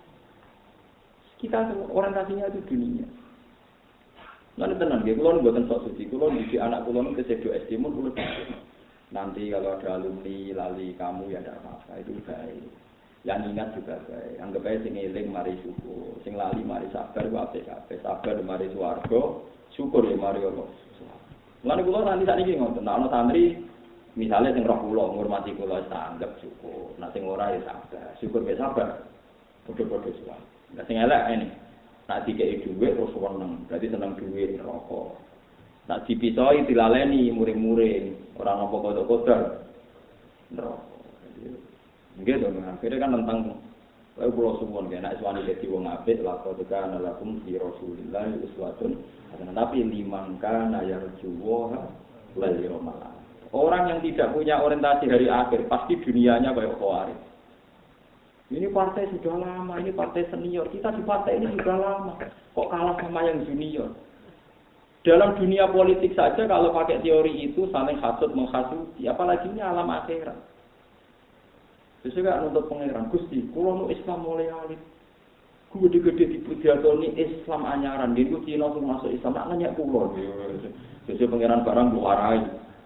Kita orientasinya itu dunia. Lan tenan nggih kula mboten sok suci. Kula iki anak kula nek sedo S D mun kula nanti kalau ada alumni lali kamu ya tidak apa-apa, itu baik. Yang ingat juga baik. Anggap aja sing eling mari syukur, sing lali mari sabar wae kabeh. Sabar mari swarga, syukur ya mari Allah. Lan kula nanti sakniki ngoten, ana santri misalnya sing roh kula ngurmati kula anggap syukur. Nek sing ora ya sabar. Syukur ya sabar. Padha-padha suwe. Nek sing elek ini, nek dikeki dhuwit terus seneng, berarti seneng dhuwit rokok. Nak dipisoi dilaleni muring-muring, orang apa kodok-kodok. Nggih to, akhirnya kan tentang Lalu kula suwun nek iswani dadi wong apik laqad kana lakum fi Rasulillah uswatun hasanah. Tapi liman kana yarjuwa wal yawmal akhir. Orang yang tidak punya orientasi hari akhir pasti dunianya kayak Khawarij. Ini partai sudah lama, ini partai senior. Kita di partai ini sudah lama. Kok kalah sama yang junior? Dalam dunia politik saja kalau pakai teori itu saling hasud menghasudi, apalagi ini alam akhirat. Sesuai nuntut pangeran Gusti, kula nu Islam mulai alit. Gede-gede dipidhatoni Islam anyaran, niku Cina sing masuk Islam nak nanya kula. Sesuai pangeran barang mbok warai.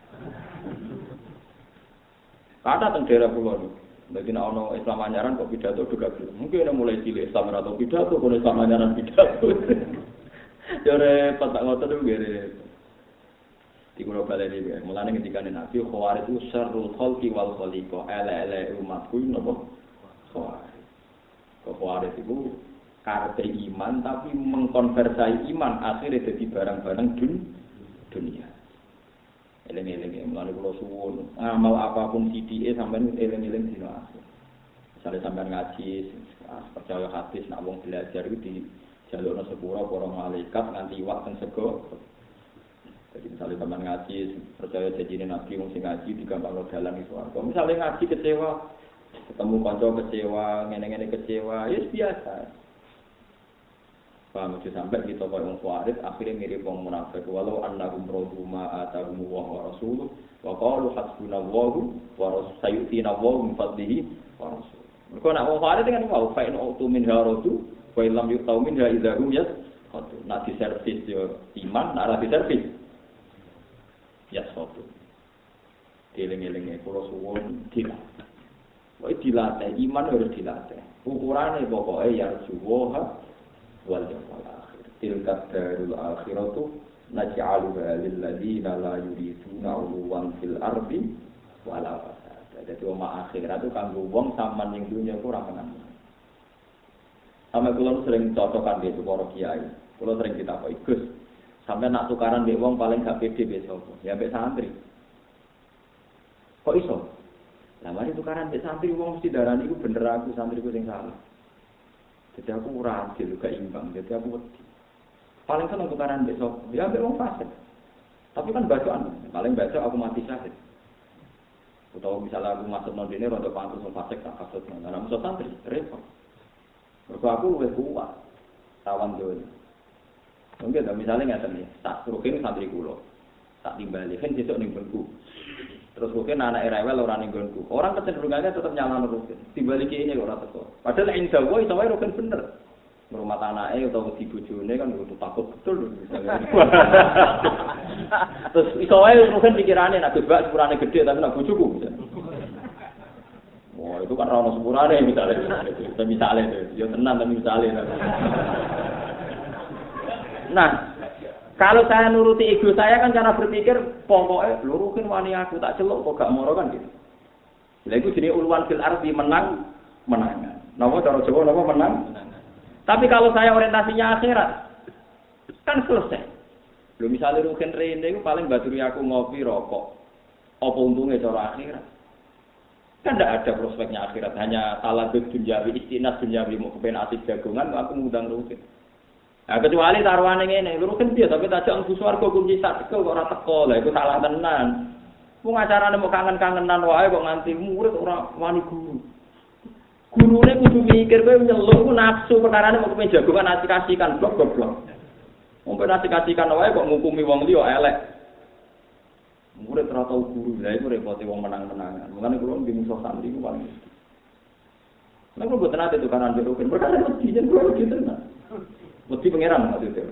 Kata teng daerah kula niku. Dadi nek ana Islam anyaran kok pidato juga gelem. Mungkin mulai cilik Islam atau pidato kok Islam anyaran pidato. Yo repot tak ngoten niku repot. Di kulo baleni wae. Mulane ketika Nabi Khawarij itu syarrul khalqi wal khaliqa, ele-ele umatku napa Khawarij. Khawarij itu karepe iman tapi mengkonversi iman akhirnya jadi barang-barang dun dunia. Eling-eling mulane kulo suwun, amal apapun sidike sampean eling-eling dina akhir. Misale sampean ngaji, percaya hadis nek wong belajar iku di jalurna sepura para malaikat nganti iwak teng sego. Jadi misalnya teman ngaji, percaya janjine Nabi wong sing ngaji digampangno dalan iso. Kalau misalnya ngaji kecewa, ketemu kanca kecewa, ngene-ngene kecewa, ya biasa. Paham aja sampai kita koyo wong Khawarij akhirnya mirip wong munafik. Walau annahum raduma atahum wa rasuluh wa qalu hasbunallahu wa rasayutina wa min fadlihi wa rasul. Mergo nek wong Khawarij kan mau fa in autu min haradu wa illam yu'tau minha idzahum yas. Nak diservis yo iman, nak ora diservis ya sopo. Dieling-elinge kula suwun dilatih. Pokoke dilatih iman harus dilatih. Ukurane pokoke ya suwoha wal yawmal akhir. Tilka darul akhiratu naj'aluha lil ladzina la yuriduna 'uluwan fil ardi wala fasada. Dadi omah akhirat itu kanggo wong sampean ning dunya ora menang. Sampe kula sering cocokan di para kiai. Kula sering ditakoki, Gus, sampai nak tukaran mbek wong paling gak pede besok, ya mbek santri. Kok iso? Lah mari tukaran mbek santri wong mesti darani iku bener aku santriku sing salah. Jadi aku ora adil gak imbang, jadi aku wedi. Paling seneng tukaran mbek sapa? Ya mbek wong fasik. Tapi kan bacaan, paling baca aku mati syahid. Utawa misalnya aku masuk nang dene rada pantes wong fasik tak kasut nang ana musuh santri, repot. Mergo aku luwih kuat. Tawan dhewe. Mungkin misalnya nggak nih, tak rukin santri kulo, tak timbali kan besok nih gonku. Terus rukin anak rewel orang nih gonku. Orang kecenderungannya tetap nyala rukin. Timbali kayaknya orang tetap. Padahal insya Allah, insya Allah rukin bener. Rumah tanahnya atau di bujune kan butuh takut betul misalnya. Terus insya Allah rukin pikirannya nak bebas sepurane gede tapi nak bujuku. Wah itu kan rano sepurane misalnya. Misalnya itu, ya tenang tapi misalnya. Nah, kalau saya nuruti ego saya kan cara berpikir pokoknya luruhin wani aku tak celuk kok gak moro kan gitu. Lha iku jenenge uluwan fil ardi menang menangan. Napa cara Jawa napa menang? Tapi kalau saya orientasinya akhirat kan selesai. Lho misale rugen rene iku paling baturi aku ngopi rokok. Apa untungnya cara akhirat? Kan tidak ada prospeknya akhirat, hanya talabut dunjawi istinas dunjawi mau kepen asik jagongan aku ngundang rugen. Nah, kecuali taruhane ngene, lho kan piye tapi tajak mlebu swarga kunci sak tekel kok ora teko. Lah iku salah tenan. Wong acarane mau kangen-kangenan wae kok nganti murid ora wani guru. Gurune kudu mikir kowe nyeluk ku nafsu perkarane mau kepen jagongan asik-asikan blok blok. Wong ben asik-asikan wae kok ngukumi wong liya elek. Murid ora tau guru, lha iku repote wong menang-menangan. Mulane kula ndi musuh santri ku paling. Nek kok boten ate tukaran jero kan perkara mesti yen kula gitu tenan. Mesti pangeran maksudnya.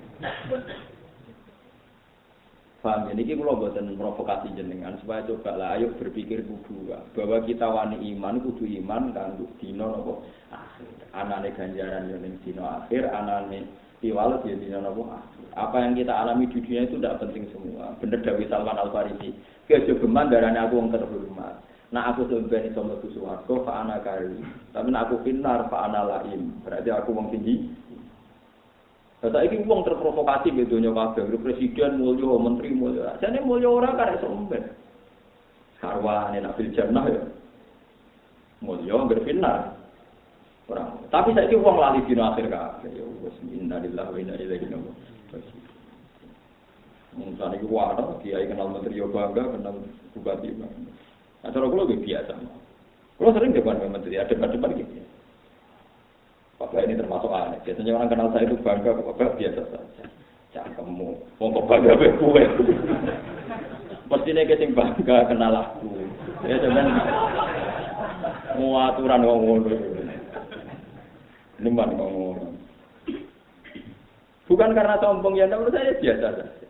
Paham ya, ini kalau buatan provokasi jenengan supaya coba lah, ayo berpikir kudu bahwa kita wani iman kudu iman kan dino nopo akhir. Anane ganjaran yang dino akhir, anane tiwalet ya dino nopo akhir. Apa yang kita alami di dunia itu tidak penting semua. Bener Dawi Salman Al Farisi. Kejogeman darahnya aku yang terhormat. Nah aku sebenarnya iso mlebu swarga fa ana kari. Tapi nak aku finar fa ana laim. Berarti aku wong tinggi. Saya ini uang terprovokasi di dunia kabeh, presiden mulya, menteri mulya. Jane mulya ora karek somben. Sarwane nak fil jannah ya. Mulya berfinar. Orang. Tapi saiki wong lali dina akhir kabeh ya wis innalillahi wa inna ilaihi raji'un. Misalnya itu wadah, kiai kenal menteri bangga, kenal bupati bangga. Nah, cara kalau lebih biasa. Kalau sering depan menteri, ada depan-depan gitu. Bapak ini termasuk aneh. Biasanya orang kenal saya itu bangga, bapak biasa saja. Jangan kamu, mau kok bangga kue. Mestinya kita bangga kenal aku. Ya cuman mau aturan ngomong. Neman ngomong. Bukan karena sombong ya, menurut saya biasa saja.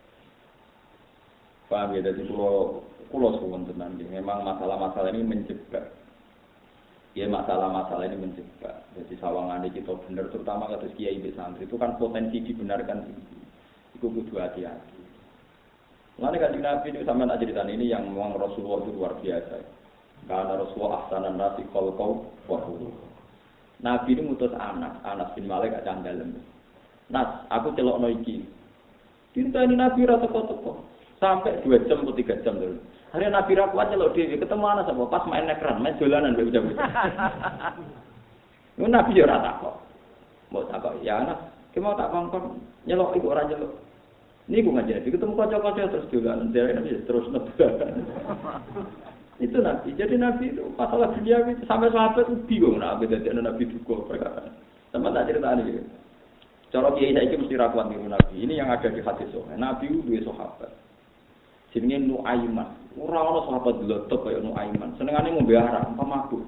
Paham ya, jadi pulau pulau suwon tenan. Memang masalah-masalah ini menjebak. Ya masalah-masalah ini menjebak. Jadi sawangan kita benar, terutama kasus kiai di santri itu kan potensi dibenarkan tinggi. Itu kudu hati-hati. Lalu kan Nabi itu sama nak cerita ini yang memang Rasulullah itu luar biasa. Karena Rasulullah ahsanan nasi khalqau wa khuluq. Nabi ini mutus anak, Anas bin Malik gak candalem. Nas, aku celokno iki. Cerita ini Nabi ra teko-teko. Sampai dua jam atau tiga jam dulu. Hari Nabi Rakuat celok dewi ketemu anak sama pas main ekran, main dolanan udah udah. Ini Nabi juga rata kok. Mau takok ya anak, kita mau tak kongkong nyelok ibu orang nyelok. Ini gue ngajar, ketemu kocok-kocok terus dolanan, dari Nabi terus nebak. Itu Nabi. Jadi Nabi itu masalah dunia itu sampai sahabat itu bingung Nabi jadi Nabi duka perkara. Sama tak cerita ini. Cara kiai saya itu mesti Rakuat niru Nabi. Ini yang ada di hadis sohail. Nabi itu dua sahabat. Jenenge Nuaiman. Ora ana sahabat dlotok kaya Nuaiman. Senengane ngombe arak, pemabuk.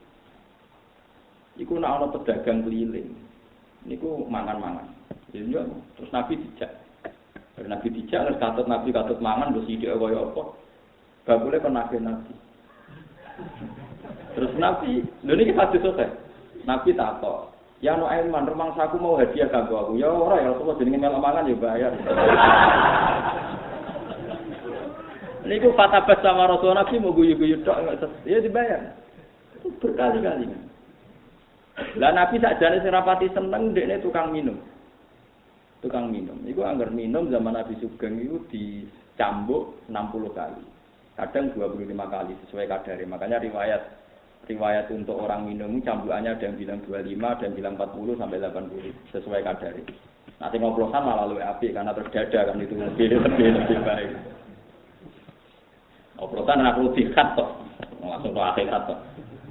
Iku nek ana pedagang keliling. Niku mangan-mangan. Jadi terus Nabi dijak. Terus Nabi dijak terus katut Nabi katut mangan terus ide kaya apa. Bakule kon Nabi Nabi. Terus Nabi, lho niki hadis sore. Nabi takok, "Ya Nuaiman, rumangsaku mau hadiah kanggo aku." Ya ora ya, Rasulullah jenenge melok mangan ya bayar. Niku fatabat sama Rasulullah Nabi mau guyu-guyu tok ya dibayar. Itu berkali-kali. Lah Nabi sakjane sing rapati seneng ndekne tukang minum. Tukang minum. Iku anggar minum zaman Nabi Sugeng itu dicambuk enam puluh kali. Kadang dua puluh lima kali sesuai kadare. Makanya riwayat riwayat untuk orang minum cambukannya ada yang bilang dua puluh lima, ada yang bilang empat puluh sampai delapan puluh sesuai kadare. Nanti ngoplosan malah luwih apik karena terus dada kan itu lebih lebih lebih baik. Oplosan anak lu dikat toh, langsung ke akhirat toh.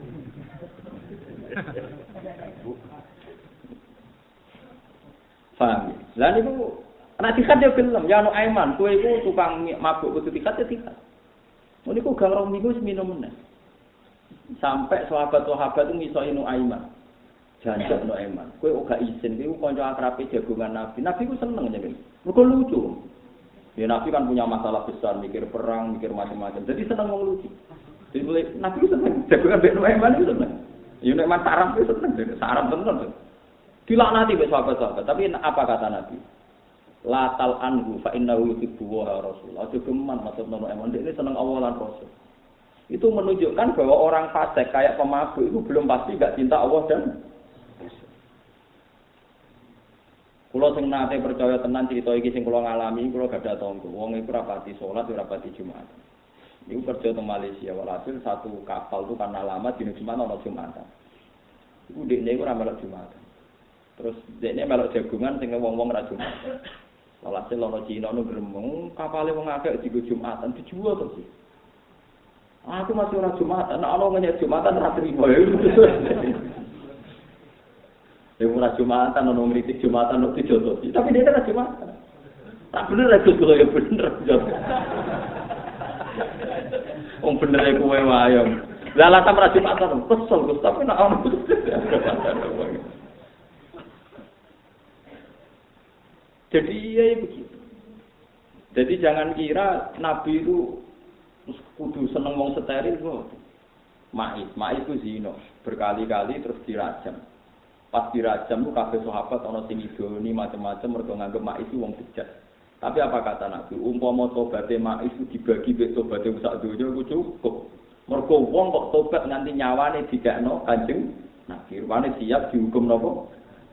Paham? Lah niku anak dikat dia gelem, ya anu Aiman, kowe iku tukang mabuk kudu dikat ya dikat. Niku gang rong minggu minum meneh. Sampai sahabat-sahabat itu ngisoi nu Aiman. Janjak nu Aiman, kowe ora izin, kowe kanca akrabe jagongan Nabi. Nabi ku seneng jenenge. Mergo lucu. Ya Nabi kan punya masalah besar, mikir perang, mikir macam-macam. Jadi senang wong lucu. Jadi mulai Nabi senang, jagungan ben Nuaiman itu senang. Ya Nuaiman saraf itu senang, saraf senang. Dilaknati be sahabat-sahabat, tapi apa kata Nabi? La tal anhu fa innahu yuhibbu wa rasul. Aja geman maksud Nuaiman, dia ini senang Allah dan Rasul. Itu menunjukkan bahwa orang fasik kayak pemabuk itu belum pasti enggak cinta Allah dan Kulo sing nate percaya tenan cerita iki sing kulo ngalami, kulo gadah tangga. Wong iku rapati salat, ora rapati Jumat. Niku kerja teng Malaysia, walhasil satu kapal itu karena lama dina Jumat ana Jumatan. Iku dekne iku ora melok Jumatan. Terus dekne melok jagungan sing wong-wong ora Jumatan. Walhasil ana Cina nu gremeng, kapale wong akeh digo Jumatan dijual terus. Aku masih ora Jumatan, nek ana ngenyek Jumatan ora trimo. Dia murah Jumatan, orang ngeritik Jumatan, orang dijodoh. Tapi dia kan Jumatan. Tak bener ya jodoh ya bener jodoh. Om bener ya kue wayang. Lah alasan murah Jumatan, kesel Gus. Tapi nak orang jadi ya begitu. Jadi jangan kira Nabi itu kudu seneng wong steril kok. Ma'is, ma'is itu zina. Berkali-kali terus dirajam. Pas dirajam itu kabeh sahabat ana sing idoni macam-macam mergo nganggep mak itu wong bejat. Tapi apa kata Nabi? Umpama tobaté mak itu dibagi mek tobaté sak donya iku cukup. Mergo wong kok tobat nganti nyawane dikekno Kanjeng Nabi. Rupane siap dihukum napa?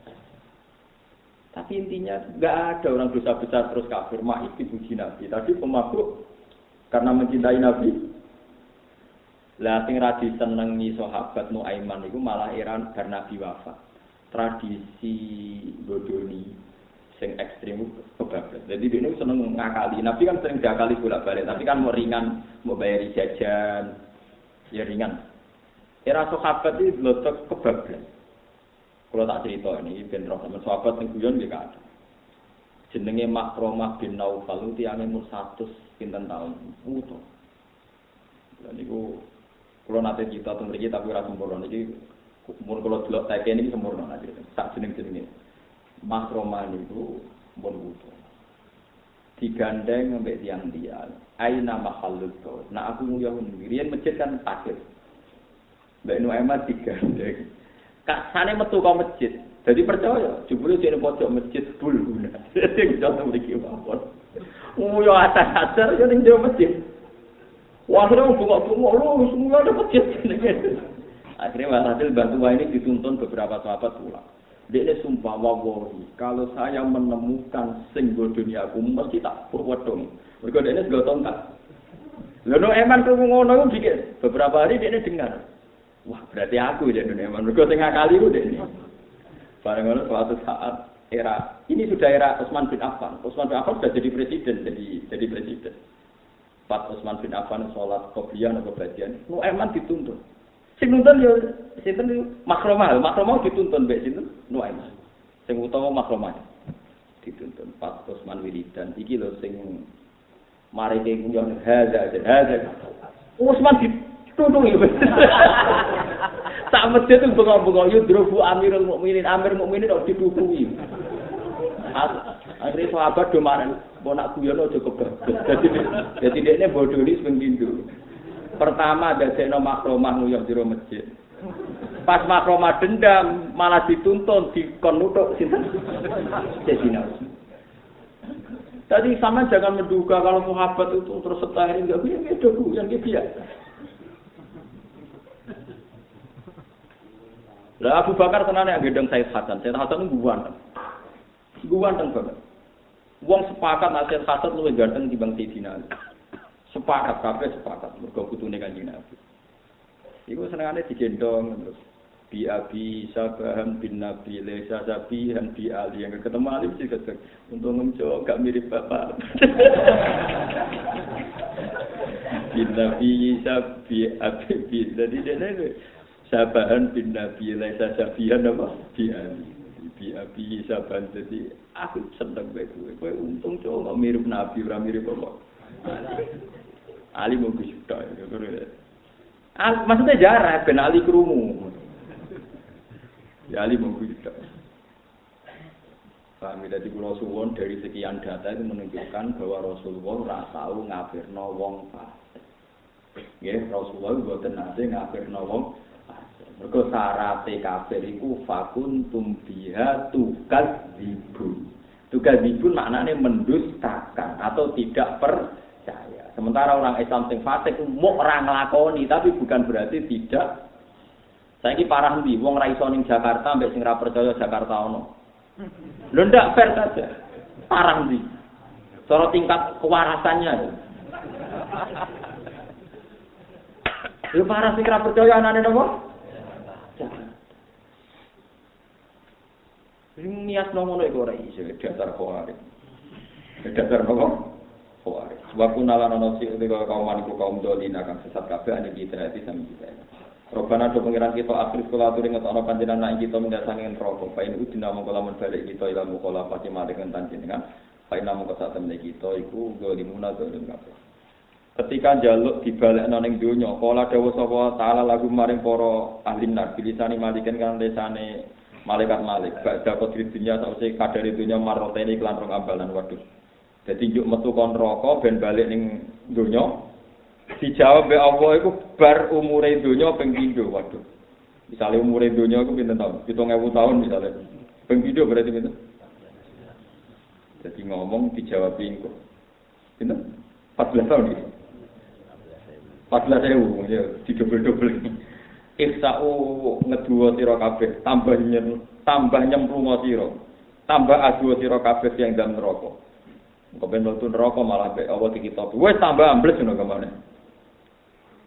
Tapi intinya enggak ada orang dosa besar terus kafir mak itu dipuji Nabi. Tadi pemabuk karena mencintai Nabi Lah sing ra disenengi sahabat Nuaiman iku malah eran bar Nabi wafat. Tradisi bodoni sing ekstrem kebablas. Jadi dia ini seneng ngakali. Nabi kan sering diakali bolak-balik, tapi kan mau ringan, mau bayari jajan, ya ringan. Era sahabat itu lotok kebablas. Kalau tak cerita ini, ben roh teman sahabat yang guyon dia ada. Jenenge Makromah bin Naufal itu tiangnya umur seratus pinten tahun. Utuh. Dan itu, kalau nanti kita tunggu lagi, tapi rasa sempurna. Jadi, umur kalau delok tak ini sempurna aja. Tak jeneng-jenengnya. Makromah itu umur utuh. Digandeng sampai tiang-tiang. Aina makhluk kau. Nah aku nguyah ngirian masjid kan takut. Mbak Nuaiman digandeng. Kak sana metu kau masjid. Jadi percaya, jebule sing pojok masjid bul guna. Sing jono mriki mawon. Nguyah atas-atas yo ning jero masjid. Wah, ora bungok-bungok lho, semua ada masjid. Akhirnya hasil bantu ini dituntun beberapa sahabat pulang. Dia sumpah wawahi, kalau saya menemukan singgul dunia aku mesti tak purwedong. Mereka dia ini segala tongkat. Lalu eman tu ngono bikin beberapa hari dia dengar. Wah berarti aku jadi eman. Mereka tengah kali itu dia ini. Barang-barang suatu saat era ini sudah era Utsman bin Affan. Utsman bin Affan sudah jadi presiden, jadi jadi presiden. Pas Utsman bin Affan sholat qobliyah atau badian, nu eman dituntun. Sing nuntun yo sinten niku Makromah, Makromah dituntun mbek sinten Nuaiman. Sing utawa Makromah dituntun pas Utsman wiridan. Iki lho sing mari ke kuyon hadza hadza. Utsman dituntun yo. Tak masjid itu bengok-bengok yudrobu Amirul Mukminin, Amir Mukminin kok ditutupi. Akhirnya sahabat do marang, "Mbok nak guyon aja kebablas." Dadi dadi dekne bodoni sing pindho. Pertama dadekno Makromah nguyuh jero masjid. Pas Makromah dendam malah dituntun dikon nutuk sinten? Sayyidina Utsman. Tadi sama jangan menduga kalau sahabat itu terus setahir enggak punya itu yang dia. Lah Abu Bakar tenane yang gendong Said Hasan. Said Hasan itu guwan. Guwan teng banget. Wong sepakat nek Said Hasan luwih ganteng dibanding Sayyidina Ali. Sepakat kabeh sepakat mergo putune Kanjeng Nabi. Iku senengane digendong terus bi abi Sabaham bin Nabi Lesa Sabihan bi Ali yang ketemu Ali mesti ketemu. Untung ngemco gak mirip bapak. Bin Nabi Sabi Abi bin jadi dene Sabahan bin Nabi Lesa Sabihan apa bi Ali. Bi abi Sabahan jadi aku seneng bae kowe. Kowe untung cowok mirip Nabi ora mirip bapak. Ali mau kesudah, Al, maksudnya jarak, ben Ali kerumu. Ya Ali mau kesudah. Paham ya, jadi Rasulullah dari sekian data itu menunjukkan bahwa Rasulullah ora tau ngafirno wong fasik. Nggih, Rasulullah mboten nate ngafirno wong fasik. Mergo syaraté kafir iku fakuntum biha tukadzibun. Tukadzibun maknane mendustakan atau tidak per Sementara orang Islam sing fasik muk ora nglakoni, tapi bukan berarti tidak. Saiki parah ndi wong ra iso ning Jakarta mbek sing ra percaya Jakarta ono. Lho ndak fair saja. Parah ndi? Cara tingkat kewarasannya. Lho parah sing ra percaya anane napa? Sing niat ngono iku ora iso dasar khawarij. Dasar napa? Khawarij. Sebab kunalan ana sing kaum maniku kaum dolina kang sesat kabeh ane kita ati sami kita. Robana do pengiran kita akhir kula aturi ngetokno panjenengan kita mendasangen rokok. Pain iku dinamung kala men balik kita ila mukala pati maringan panjenengan. Pain namung kesatemene kita iku golimuna dolim kabeh. Ketika njaluk dibalekno ning donya, kala dawuh sapa taala lagu maring para ahli nar bilisani malikan kan lesane malaikat malik. Badha kodri dunya sause kadare dunya marotene iklan rong ambalan waduh. Jadi njuk metu kon neraka ben balik ning donya. Dijawab be Allah iku bar umure donya ping pindho. Waduh. Misale umure donya iku pinten taun? tujuh ribu tahun misale. Ping pindho berarti pinten? Jadi ngomong dijawab iku. Pinten? empat belas tahun iki. empat belas ribu ya didobel-dobel. Iksa'u ngeduwa sira kabeh, tambah nyen, tambah nyemplungo sira. Tambah adu sira kabeh yang dalam neraka. Kau ben mlebu neraka malah mbek Allah dikitab. Wis tambah ambles ngono kemana.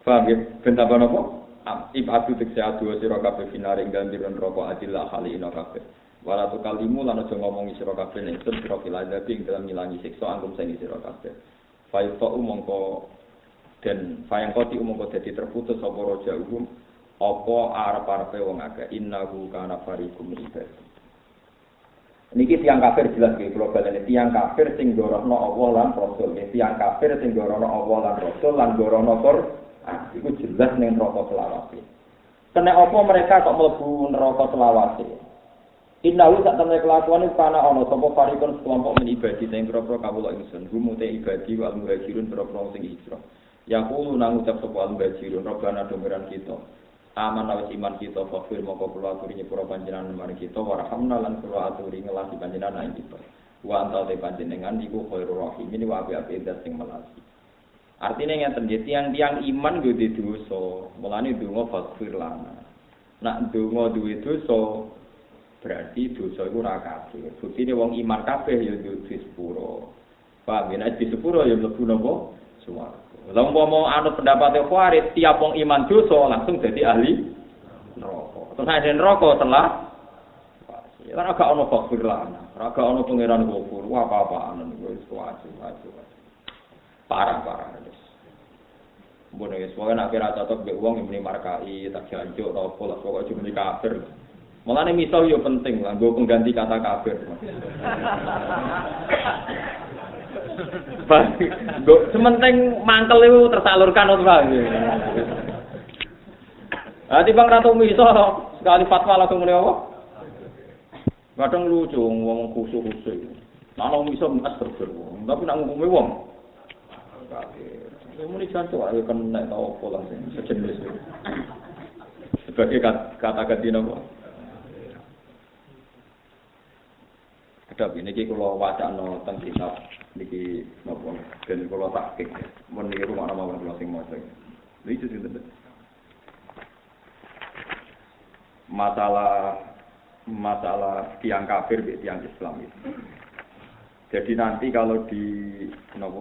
Paham ya? Ben tambah napa? Ibadu tekse adu sira kabeh finare ing dalem neraka adillah kali ina kabeh. Wala tu kalimu lan aja ngomongi sira kabeh nek sun sira filadabi ing dalam ngilangi siksa angkum sing sira kabeh. Faifa umangka dan fayang koti umangka dadi terputus apa raja umum apa arep-arepe wong akeh innahu kana fariqum ibad. Niki tiyang kafir jelas nggih kula baleni tiyang kafir sing ndorono Allah lan Rasul. Tiyang kafir sing ndorono Allah lan Rasul lan ndorono Qur'an iku jelas ning neraka selawase. Kene apa mereka kok mlebu neraka selawase? Innahu sak temne kelakuan iku ana ana sapa farikun kelompok men ibadi sing pira-pira kawula ingsun gumute ibadi wal muhajirun pira-pira sing hijrah. Yaqulu nang ucap sapa al muhajirun robbana domberan kita. Aman awis iman kita fakir moko kula aturi nyepura panjenengan mari kita warhamna lan kula aturi ngelasi panjenengan ing kita. Wa antal te panjenengan iku khairur rahim ini wa api-api das sing melasi. Artinya ngeten nggih tiang-tiang iman yo di dosa, mulane donga fakir lana. Nak donga duwe dosa berarti dosa iku ora kabeh. Buktine wong iman kabeh ya duwe sepuro. Paham ya nek di sepuro ya mlebu napa? Swarga. Lah umpama anut pendapat Khawarij tiap wong iman dosa langsung jadi ahli neraka. Terus nek neraka telah ora gak ono fakir lan, ora gak ono pangeran gofur, wah apa-apaan wis wajib-wajib. Parah-parah wis. Mbone wis wae nek ora cocok mbek wong muni markai tak janjuk ta opo lah pokoke cuma kafir. Mulane misal yo penting lah nggo pengganti kata kafir. Mbok sementing mangkel itu tersalurkan ora wae. Ah timbang ratu miso sekali fatwa langsung muni apa? Kadang lucu wong khusuk-khusuk. Nek wong miso mas terber wong, tapi nek ngukumi wong kafir. Ya muni jantung ayo kan nek tau apa langsung sejenis. Sebagai kata ganti napa? Kedap ini kalau wacana tentang kitab niki napa ben kula tahqiq mun niki rumah mawon kula sing maca. Lha itu sing penting. Masalah masalah tiang kafir be tiang Islam itu. Jadi nanti kalau di napa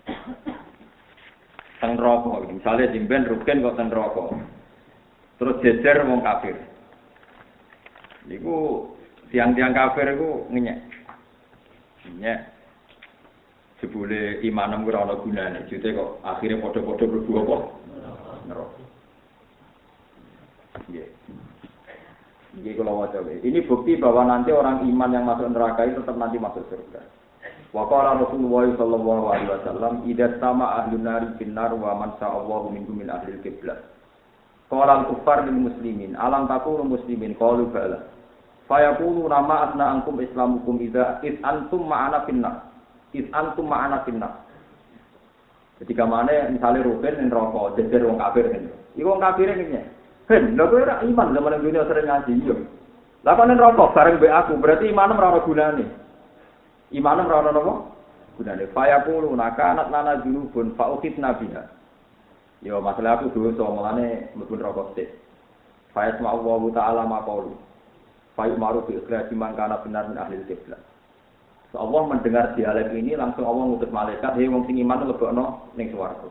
teng neraka misalnya simpen rugen kok teng neraka. Terus jejer wong kafir. Niku tiang-tiang kafir iku ngenyek. Ngenyek jebule imanem ora ana gunane, jute kok akhire padha-padha mlebu apa? Neraka. Nggih. Nggih kula waca wae. Ini bukti bahwa nanti orang iman yang masuk neraka itu tetap nanti masuk surga. Wa qala Rasulullah sallallahu alaihi wasallam, "Idza sama ahlun nari finnar wa man sa'allahu minkum min ahlil qiblah." Qala al-kuffar lil muslimin, "Alam takunu muslimin?" Qalu bala. Fayaqulu nama asna ankum islamukum idza id antum ma'ana finnar. Is antum ma'ana finnas. Ketika mana misalnya Ruben yang rokok, jejer wong kafir kan. Iku wong kafir ngene. Ben, lha kowe ora iman zaman dunia sering ngaji yo. Lah kok rokok bareng mbek aku, berarti imanem ora ana gunane. Imanem ora ana napa? Gunane. Fayaqulu naka anat lana junubun fa ukhid nabiha. Yo masalah aku dosa mulane mlebu rokok sik. Fa yasma Allah taala maqalu. Fa yumaru bi ikhraj man kana benar min ahli qiblah. So, Allah mendengar dialek ini langsung Allah ngutus malaikat, "Hei wong sing iman lebokno ning swarga."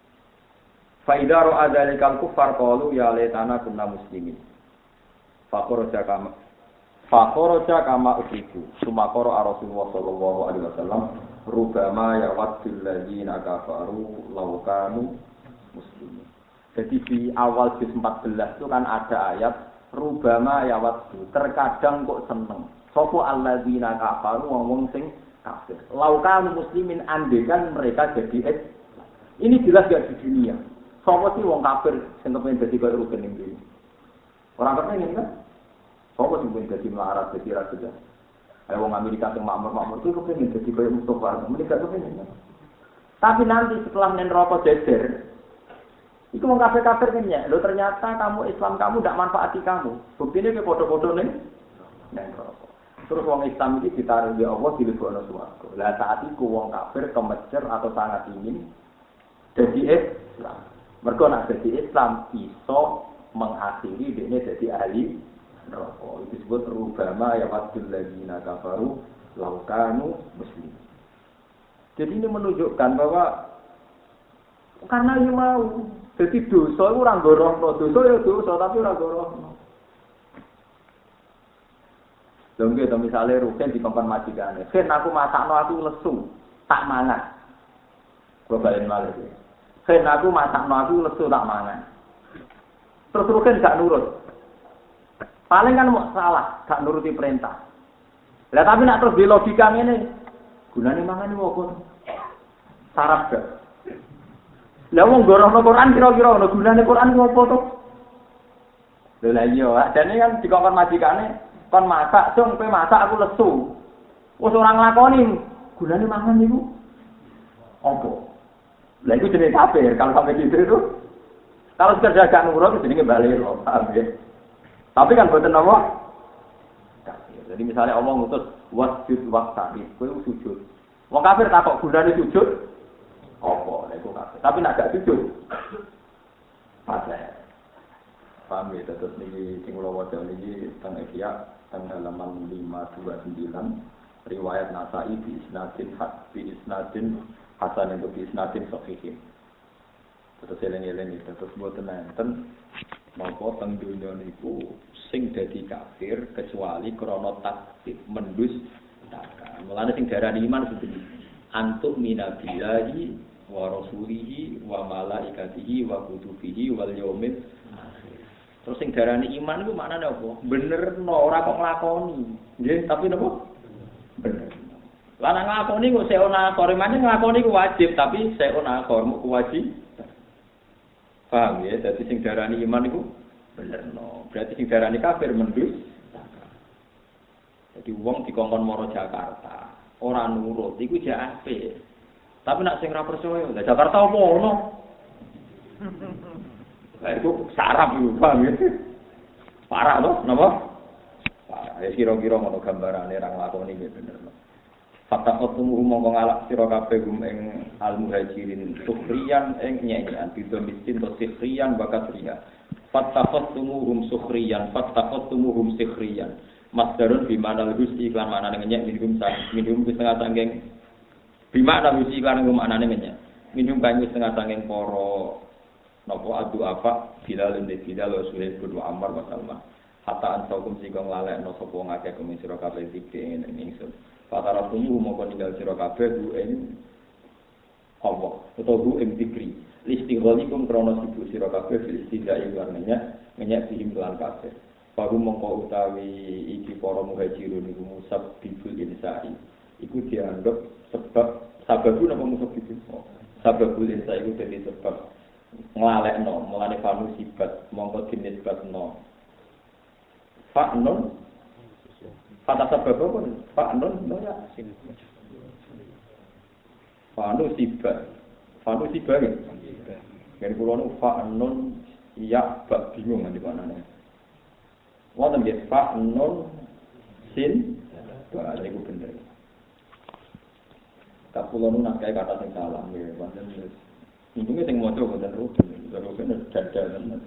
Fa idza ra'a dzalikal kuffar qalu ya laitana kunna muslimin. Fa kharaja kama fa kharaja kama usiku. Sumakara Rasulullah sallallahu alaihi wasallam, "Rubama yawaddul ladzina kafaru law kanu muslimin." Jadi di awal juz empat belas itu kan ada ayat rubama yawaddu, terkadang kok seneng. Sopo alladzina kafaru wong sing kafir. Laukan muslimin andekan mereka jadi es. Ini jelas gak di dunia. Sopo sih wong kafir sing kepen dadi kaya rugen ning dunia. Orang kepen kan? Sopo sing kepen dadi melarat dadi raja. Ayo wong Amerika sing makmur-makmur itu kepen dadi kaya Mustafa. Mereka kepen. Tapi nanti setelah nen rokok jejer, itu wong kafir-kafir kan ya. Lo ternyata kamu Islam kamu ndak manfaati kamu. Buktinya ke foto-foto ning nen rokok. Terus wong Islam iki ditaruh di Allah dilebokno swarga. Lah saat iku wong kafir kemecer atau sangat ingin jadi Islam. Mergo nek jadi Islam iso mengakhiri dekne dadi ahli neraka. Itu disebut rubama ya wadul ladzina kafaru law kanu muslimin. Jadi ini menunjukkan bahwa karena yang mau Jadi dosa itu ora gorohno, dosa ya dosa tapi ora gorohno. Lha nggih to misale rugen dikongkon majikane. Sen aku masakno aku lesu, tak mangan. Kula balen malih. Sen aku masakno aku lesu tak mangan. Terus rugen gak nurut. Paling kan mau salah, gak nuruti perintah. Lah tapi nak terus di logika ngene, gunane mangan iki opo? Sarap gak? Lah wong gorohno Quran kira-kira ono gunane Quran ku opo to? Lha iya, jane kan dikongkon majikane kon masak, dong, kowe masak aku lesu. Wis ora nglakoni, gunane mangan niku apa? Lah iku jenenge kafir, kalau sampai gitu itu. Kalau sekedar gak nurut jenenge bali lho, paham ya? Tapi kan boten apa? Kafir. Jadi misalnya Allah ngutus wasjud waqtari, kowe sujud. Wong kafir takok gunane sujud apa? Lah iku kafir. Tapi nek gak sujud pasrah. Paham ya, terus niki sing kula waca niki teng Ihya teng halaman lima dua sembilan riwayat Nasa'i bi isnadin hak bi isnadin hasan itu bi isnadin sahih. Terus eling-eling itu terus mboten enten napa teng donya niku sing dadi kafir kecuali krana takdzib mendus neraka. Mulane sing darani iman seperti antuk minabillahi wa rasulihi wa malaikatihi wa kutubihi wal yaumil akhir. Terus sing darani iman iku maknane apa? Benerno ora kok nglakoni. Nggih, tapi napa? Bener. Lah nek nglakoni kok seona akor, mane nglakoni ku wajib, tapi seona akor ku wajib. Paham ya? Dadi sing darani iman iku benerno. Berarti sing darani kafir mendus. Jadi wong dikongkon maro Jakarta, ora nurut iku jek apik. Tapi nek sing ora percaya, lah Jakarta apa ono? Lah itu sarap itu, paham ya? Parah loh, kenapa? Parah, ya kira-kira ngono gambarane ra nglakoni iki bener. Fatakot tumuhu mongko ngalak sira kabeh gum ing al-muhajirin sukhriyan ing nyanyian bidho miskin to sikhriyan bakat riya. Fatakot tumuhum sukhriyan, fatakot tumuhum sikhriyan. Masdarun bimanal gusti iklan manane ngenyek minum sang minum setengah sangking bimana gusti iklan nggo manane ngenyek. Minum banyu setengah sangking para napa adu apa Bilal bin Bilal wa Suhaib bin Ammar wa Salman hatta ansaukum sing nglalekno sapa ngakeh kuwi sira kabeh iki ing ingsun fatara tumu moko ninggal sira kabeh ku ing Allah utawa ku ing dikri listighalikum krana sibuk sira kabeh istidai warnanya ngenyak sing lan kabeh baru mongko utawi iki para muhajirun iku musab bibul insai iku dianggap sebab sababu napa musab bibul sababul insai iku dadi sebab nglalekno mulane fanu sibat mongko dinisbatno fa'nun fata sabab apa fa'nun no ya fanu sibat fanu sibat kan kula nu fa'nun ya bak bingung nang dipanane wonten nggih fa'nun sin ba niku bener tak kula nu nak kata sing salah nggih wonten untungnya sing maca boten rugen, rugen dadalan.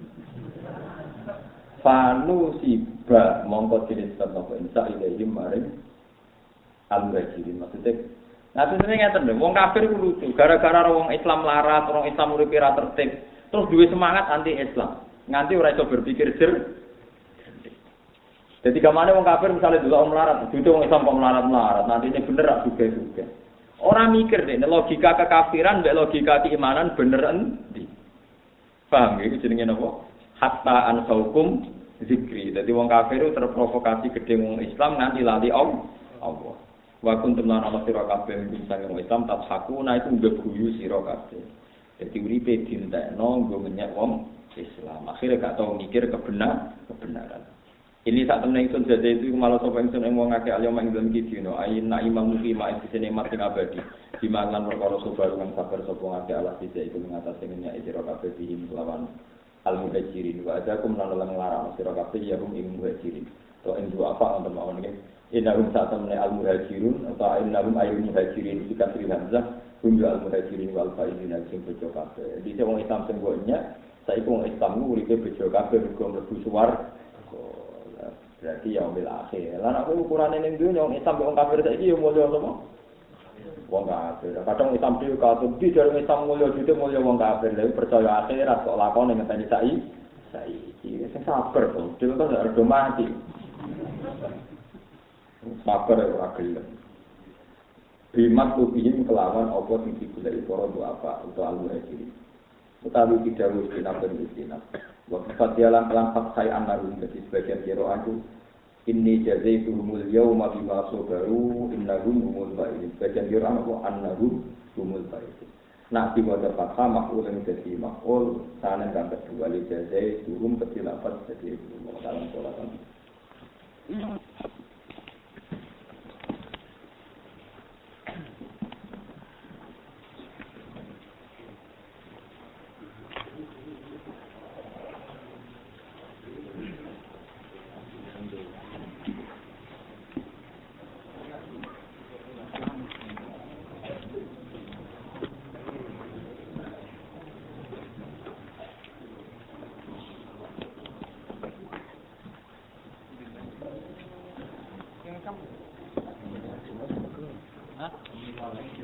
Fanu siba mongko dinisbat napa insa ilahi maring al-muhajirin maksudnya. Nah sebenarnya ngeten lho, wong kafir ku lucu, gara-gara wong Islam larat, wong Islam uripe ra tertib, terus duwe semangat anti Islam. Nganti ora iso berpikir jer. Jadi gamane wong kafir misalnya delok wong melarat, dudu wong Islam kok melarat-melarat, nanti ini bener ra juga-juga. Orang mikir deh, logika kekafiran, mbek logika keimanan bener endi? Paham ya? Itu jenenge napa? Hatta ansaukum zikri. Jadi wong kafir itu terprovokasi gede wong Islam nganti lali Allah. Wa kuntum lan ana sira kabeh bisa wong Islam tathakuna itu ngeguyu sira kabeh. Jadi uripe dintekno nggo menyek wong Islam. Akhirnya gak tau mikir kebenar, kebenaran. Ini saat temen ingsun jajah itu malah sapa ingsun ing wong akeh alim ing dalem iki dina ayina imam mufi ma ing sene mati abadi dimangan perkara sobar kang sabar sapa ngake Allah sithik iku ngatasi nyak sira kabeh bihim lawan al muhajirin wa ajakum lan lan nglarang sira kabeh ya rum ing muhajirin to ing dua apa wonten mawon nggih innarum saat temen al muhajirun atau innarum ayyul muhajirin dikasri hamzah hum al muhajirin wal faizin sing bejo kabeh dise wong Islam sing nyak saiki wong Islam uripe bejo kabeh mergo mlebu suwarga. Berarti ya umil akhir. Lan aku ukurane ning dunya wong Islam wong kafir saiki yo mulya apa? wong kafir. Kadang Islam dhewe katut di dalam Islam mulya jute mulya wong kafir. Lha percaya akhirat kok lakone ngenteni saiki. Saiki sing sabar to. Dhewe kan ora do mati. Sabar ora gelem. Bimat kubihim kelawan apa sing digoleki para apa utawa al-muhajirin. Utawi tidak wis dinampen istinaf. Wa fatihalan kelan fatsai annarum dadi sebagian kira aku inni jazaituhumul yawma bima sabaru innahum humul faizun. Sebagian kira apa annahum humul faizun. Nak diwaca fathah maf'ul yang dadi maf'ul sanen kang kedua li jazaituhum ketilafat dadi dalam sholatan. Hah?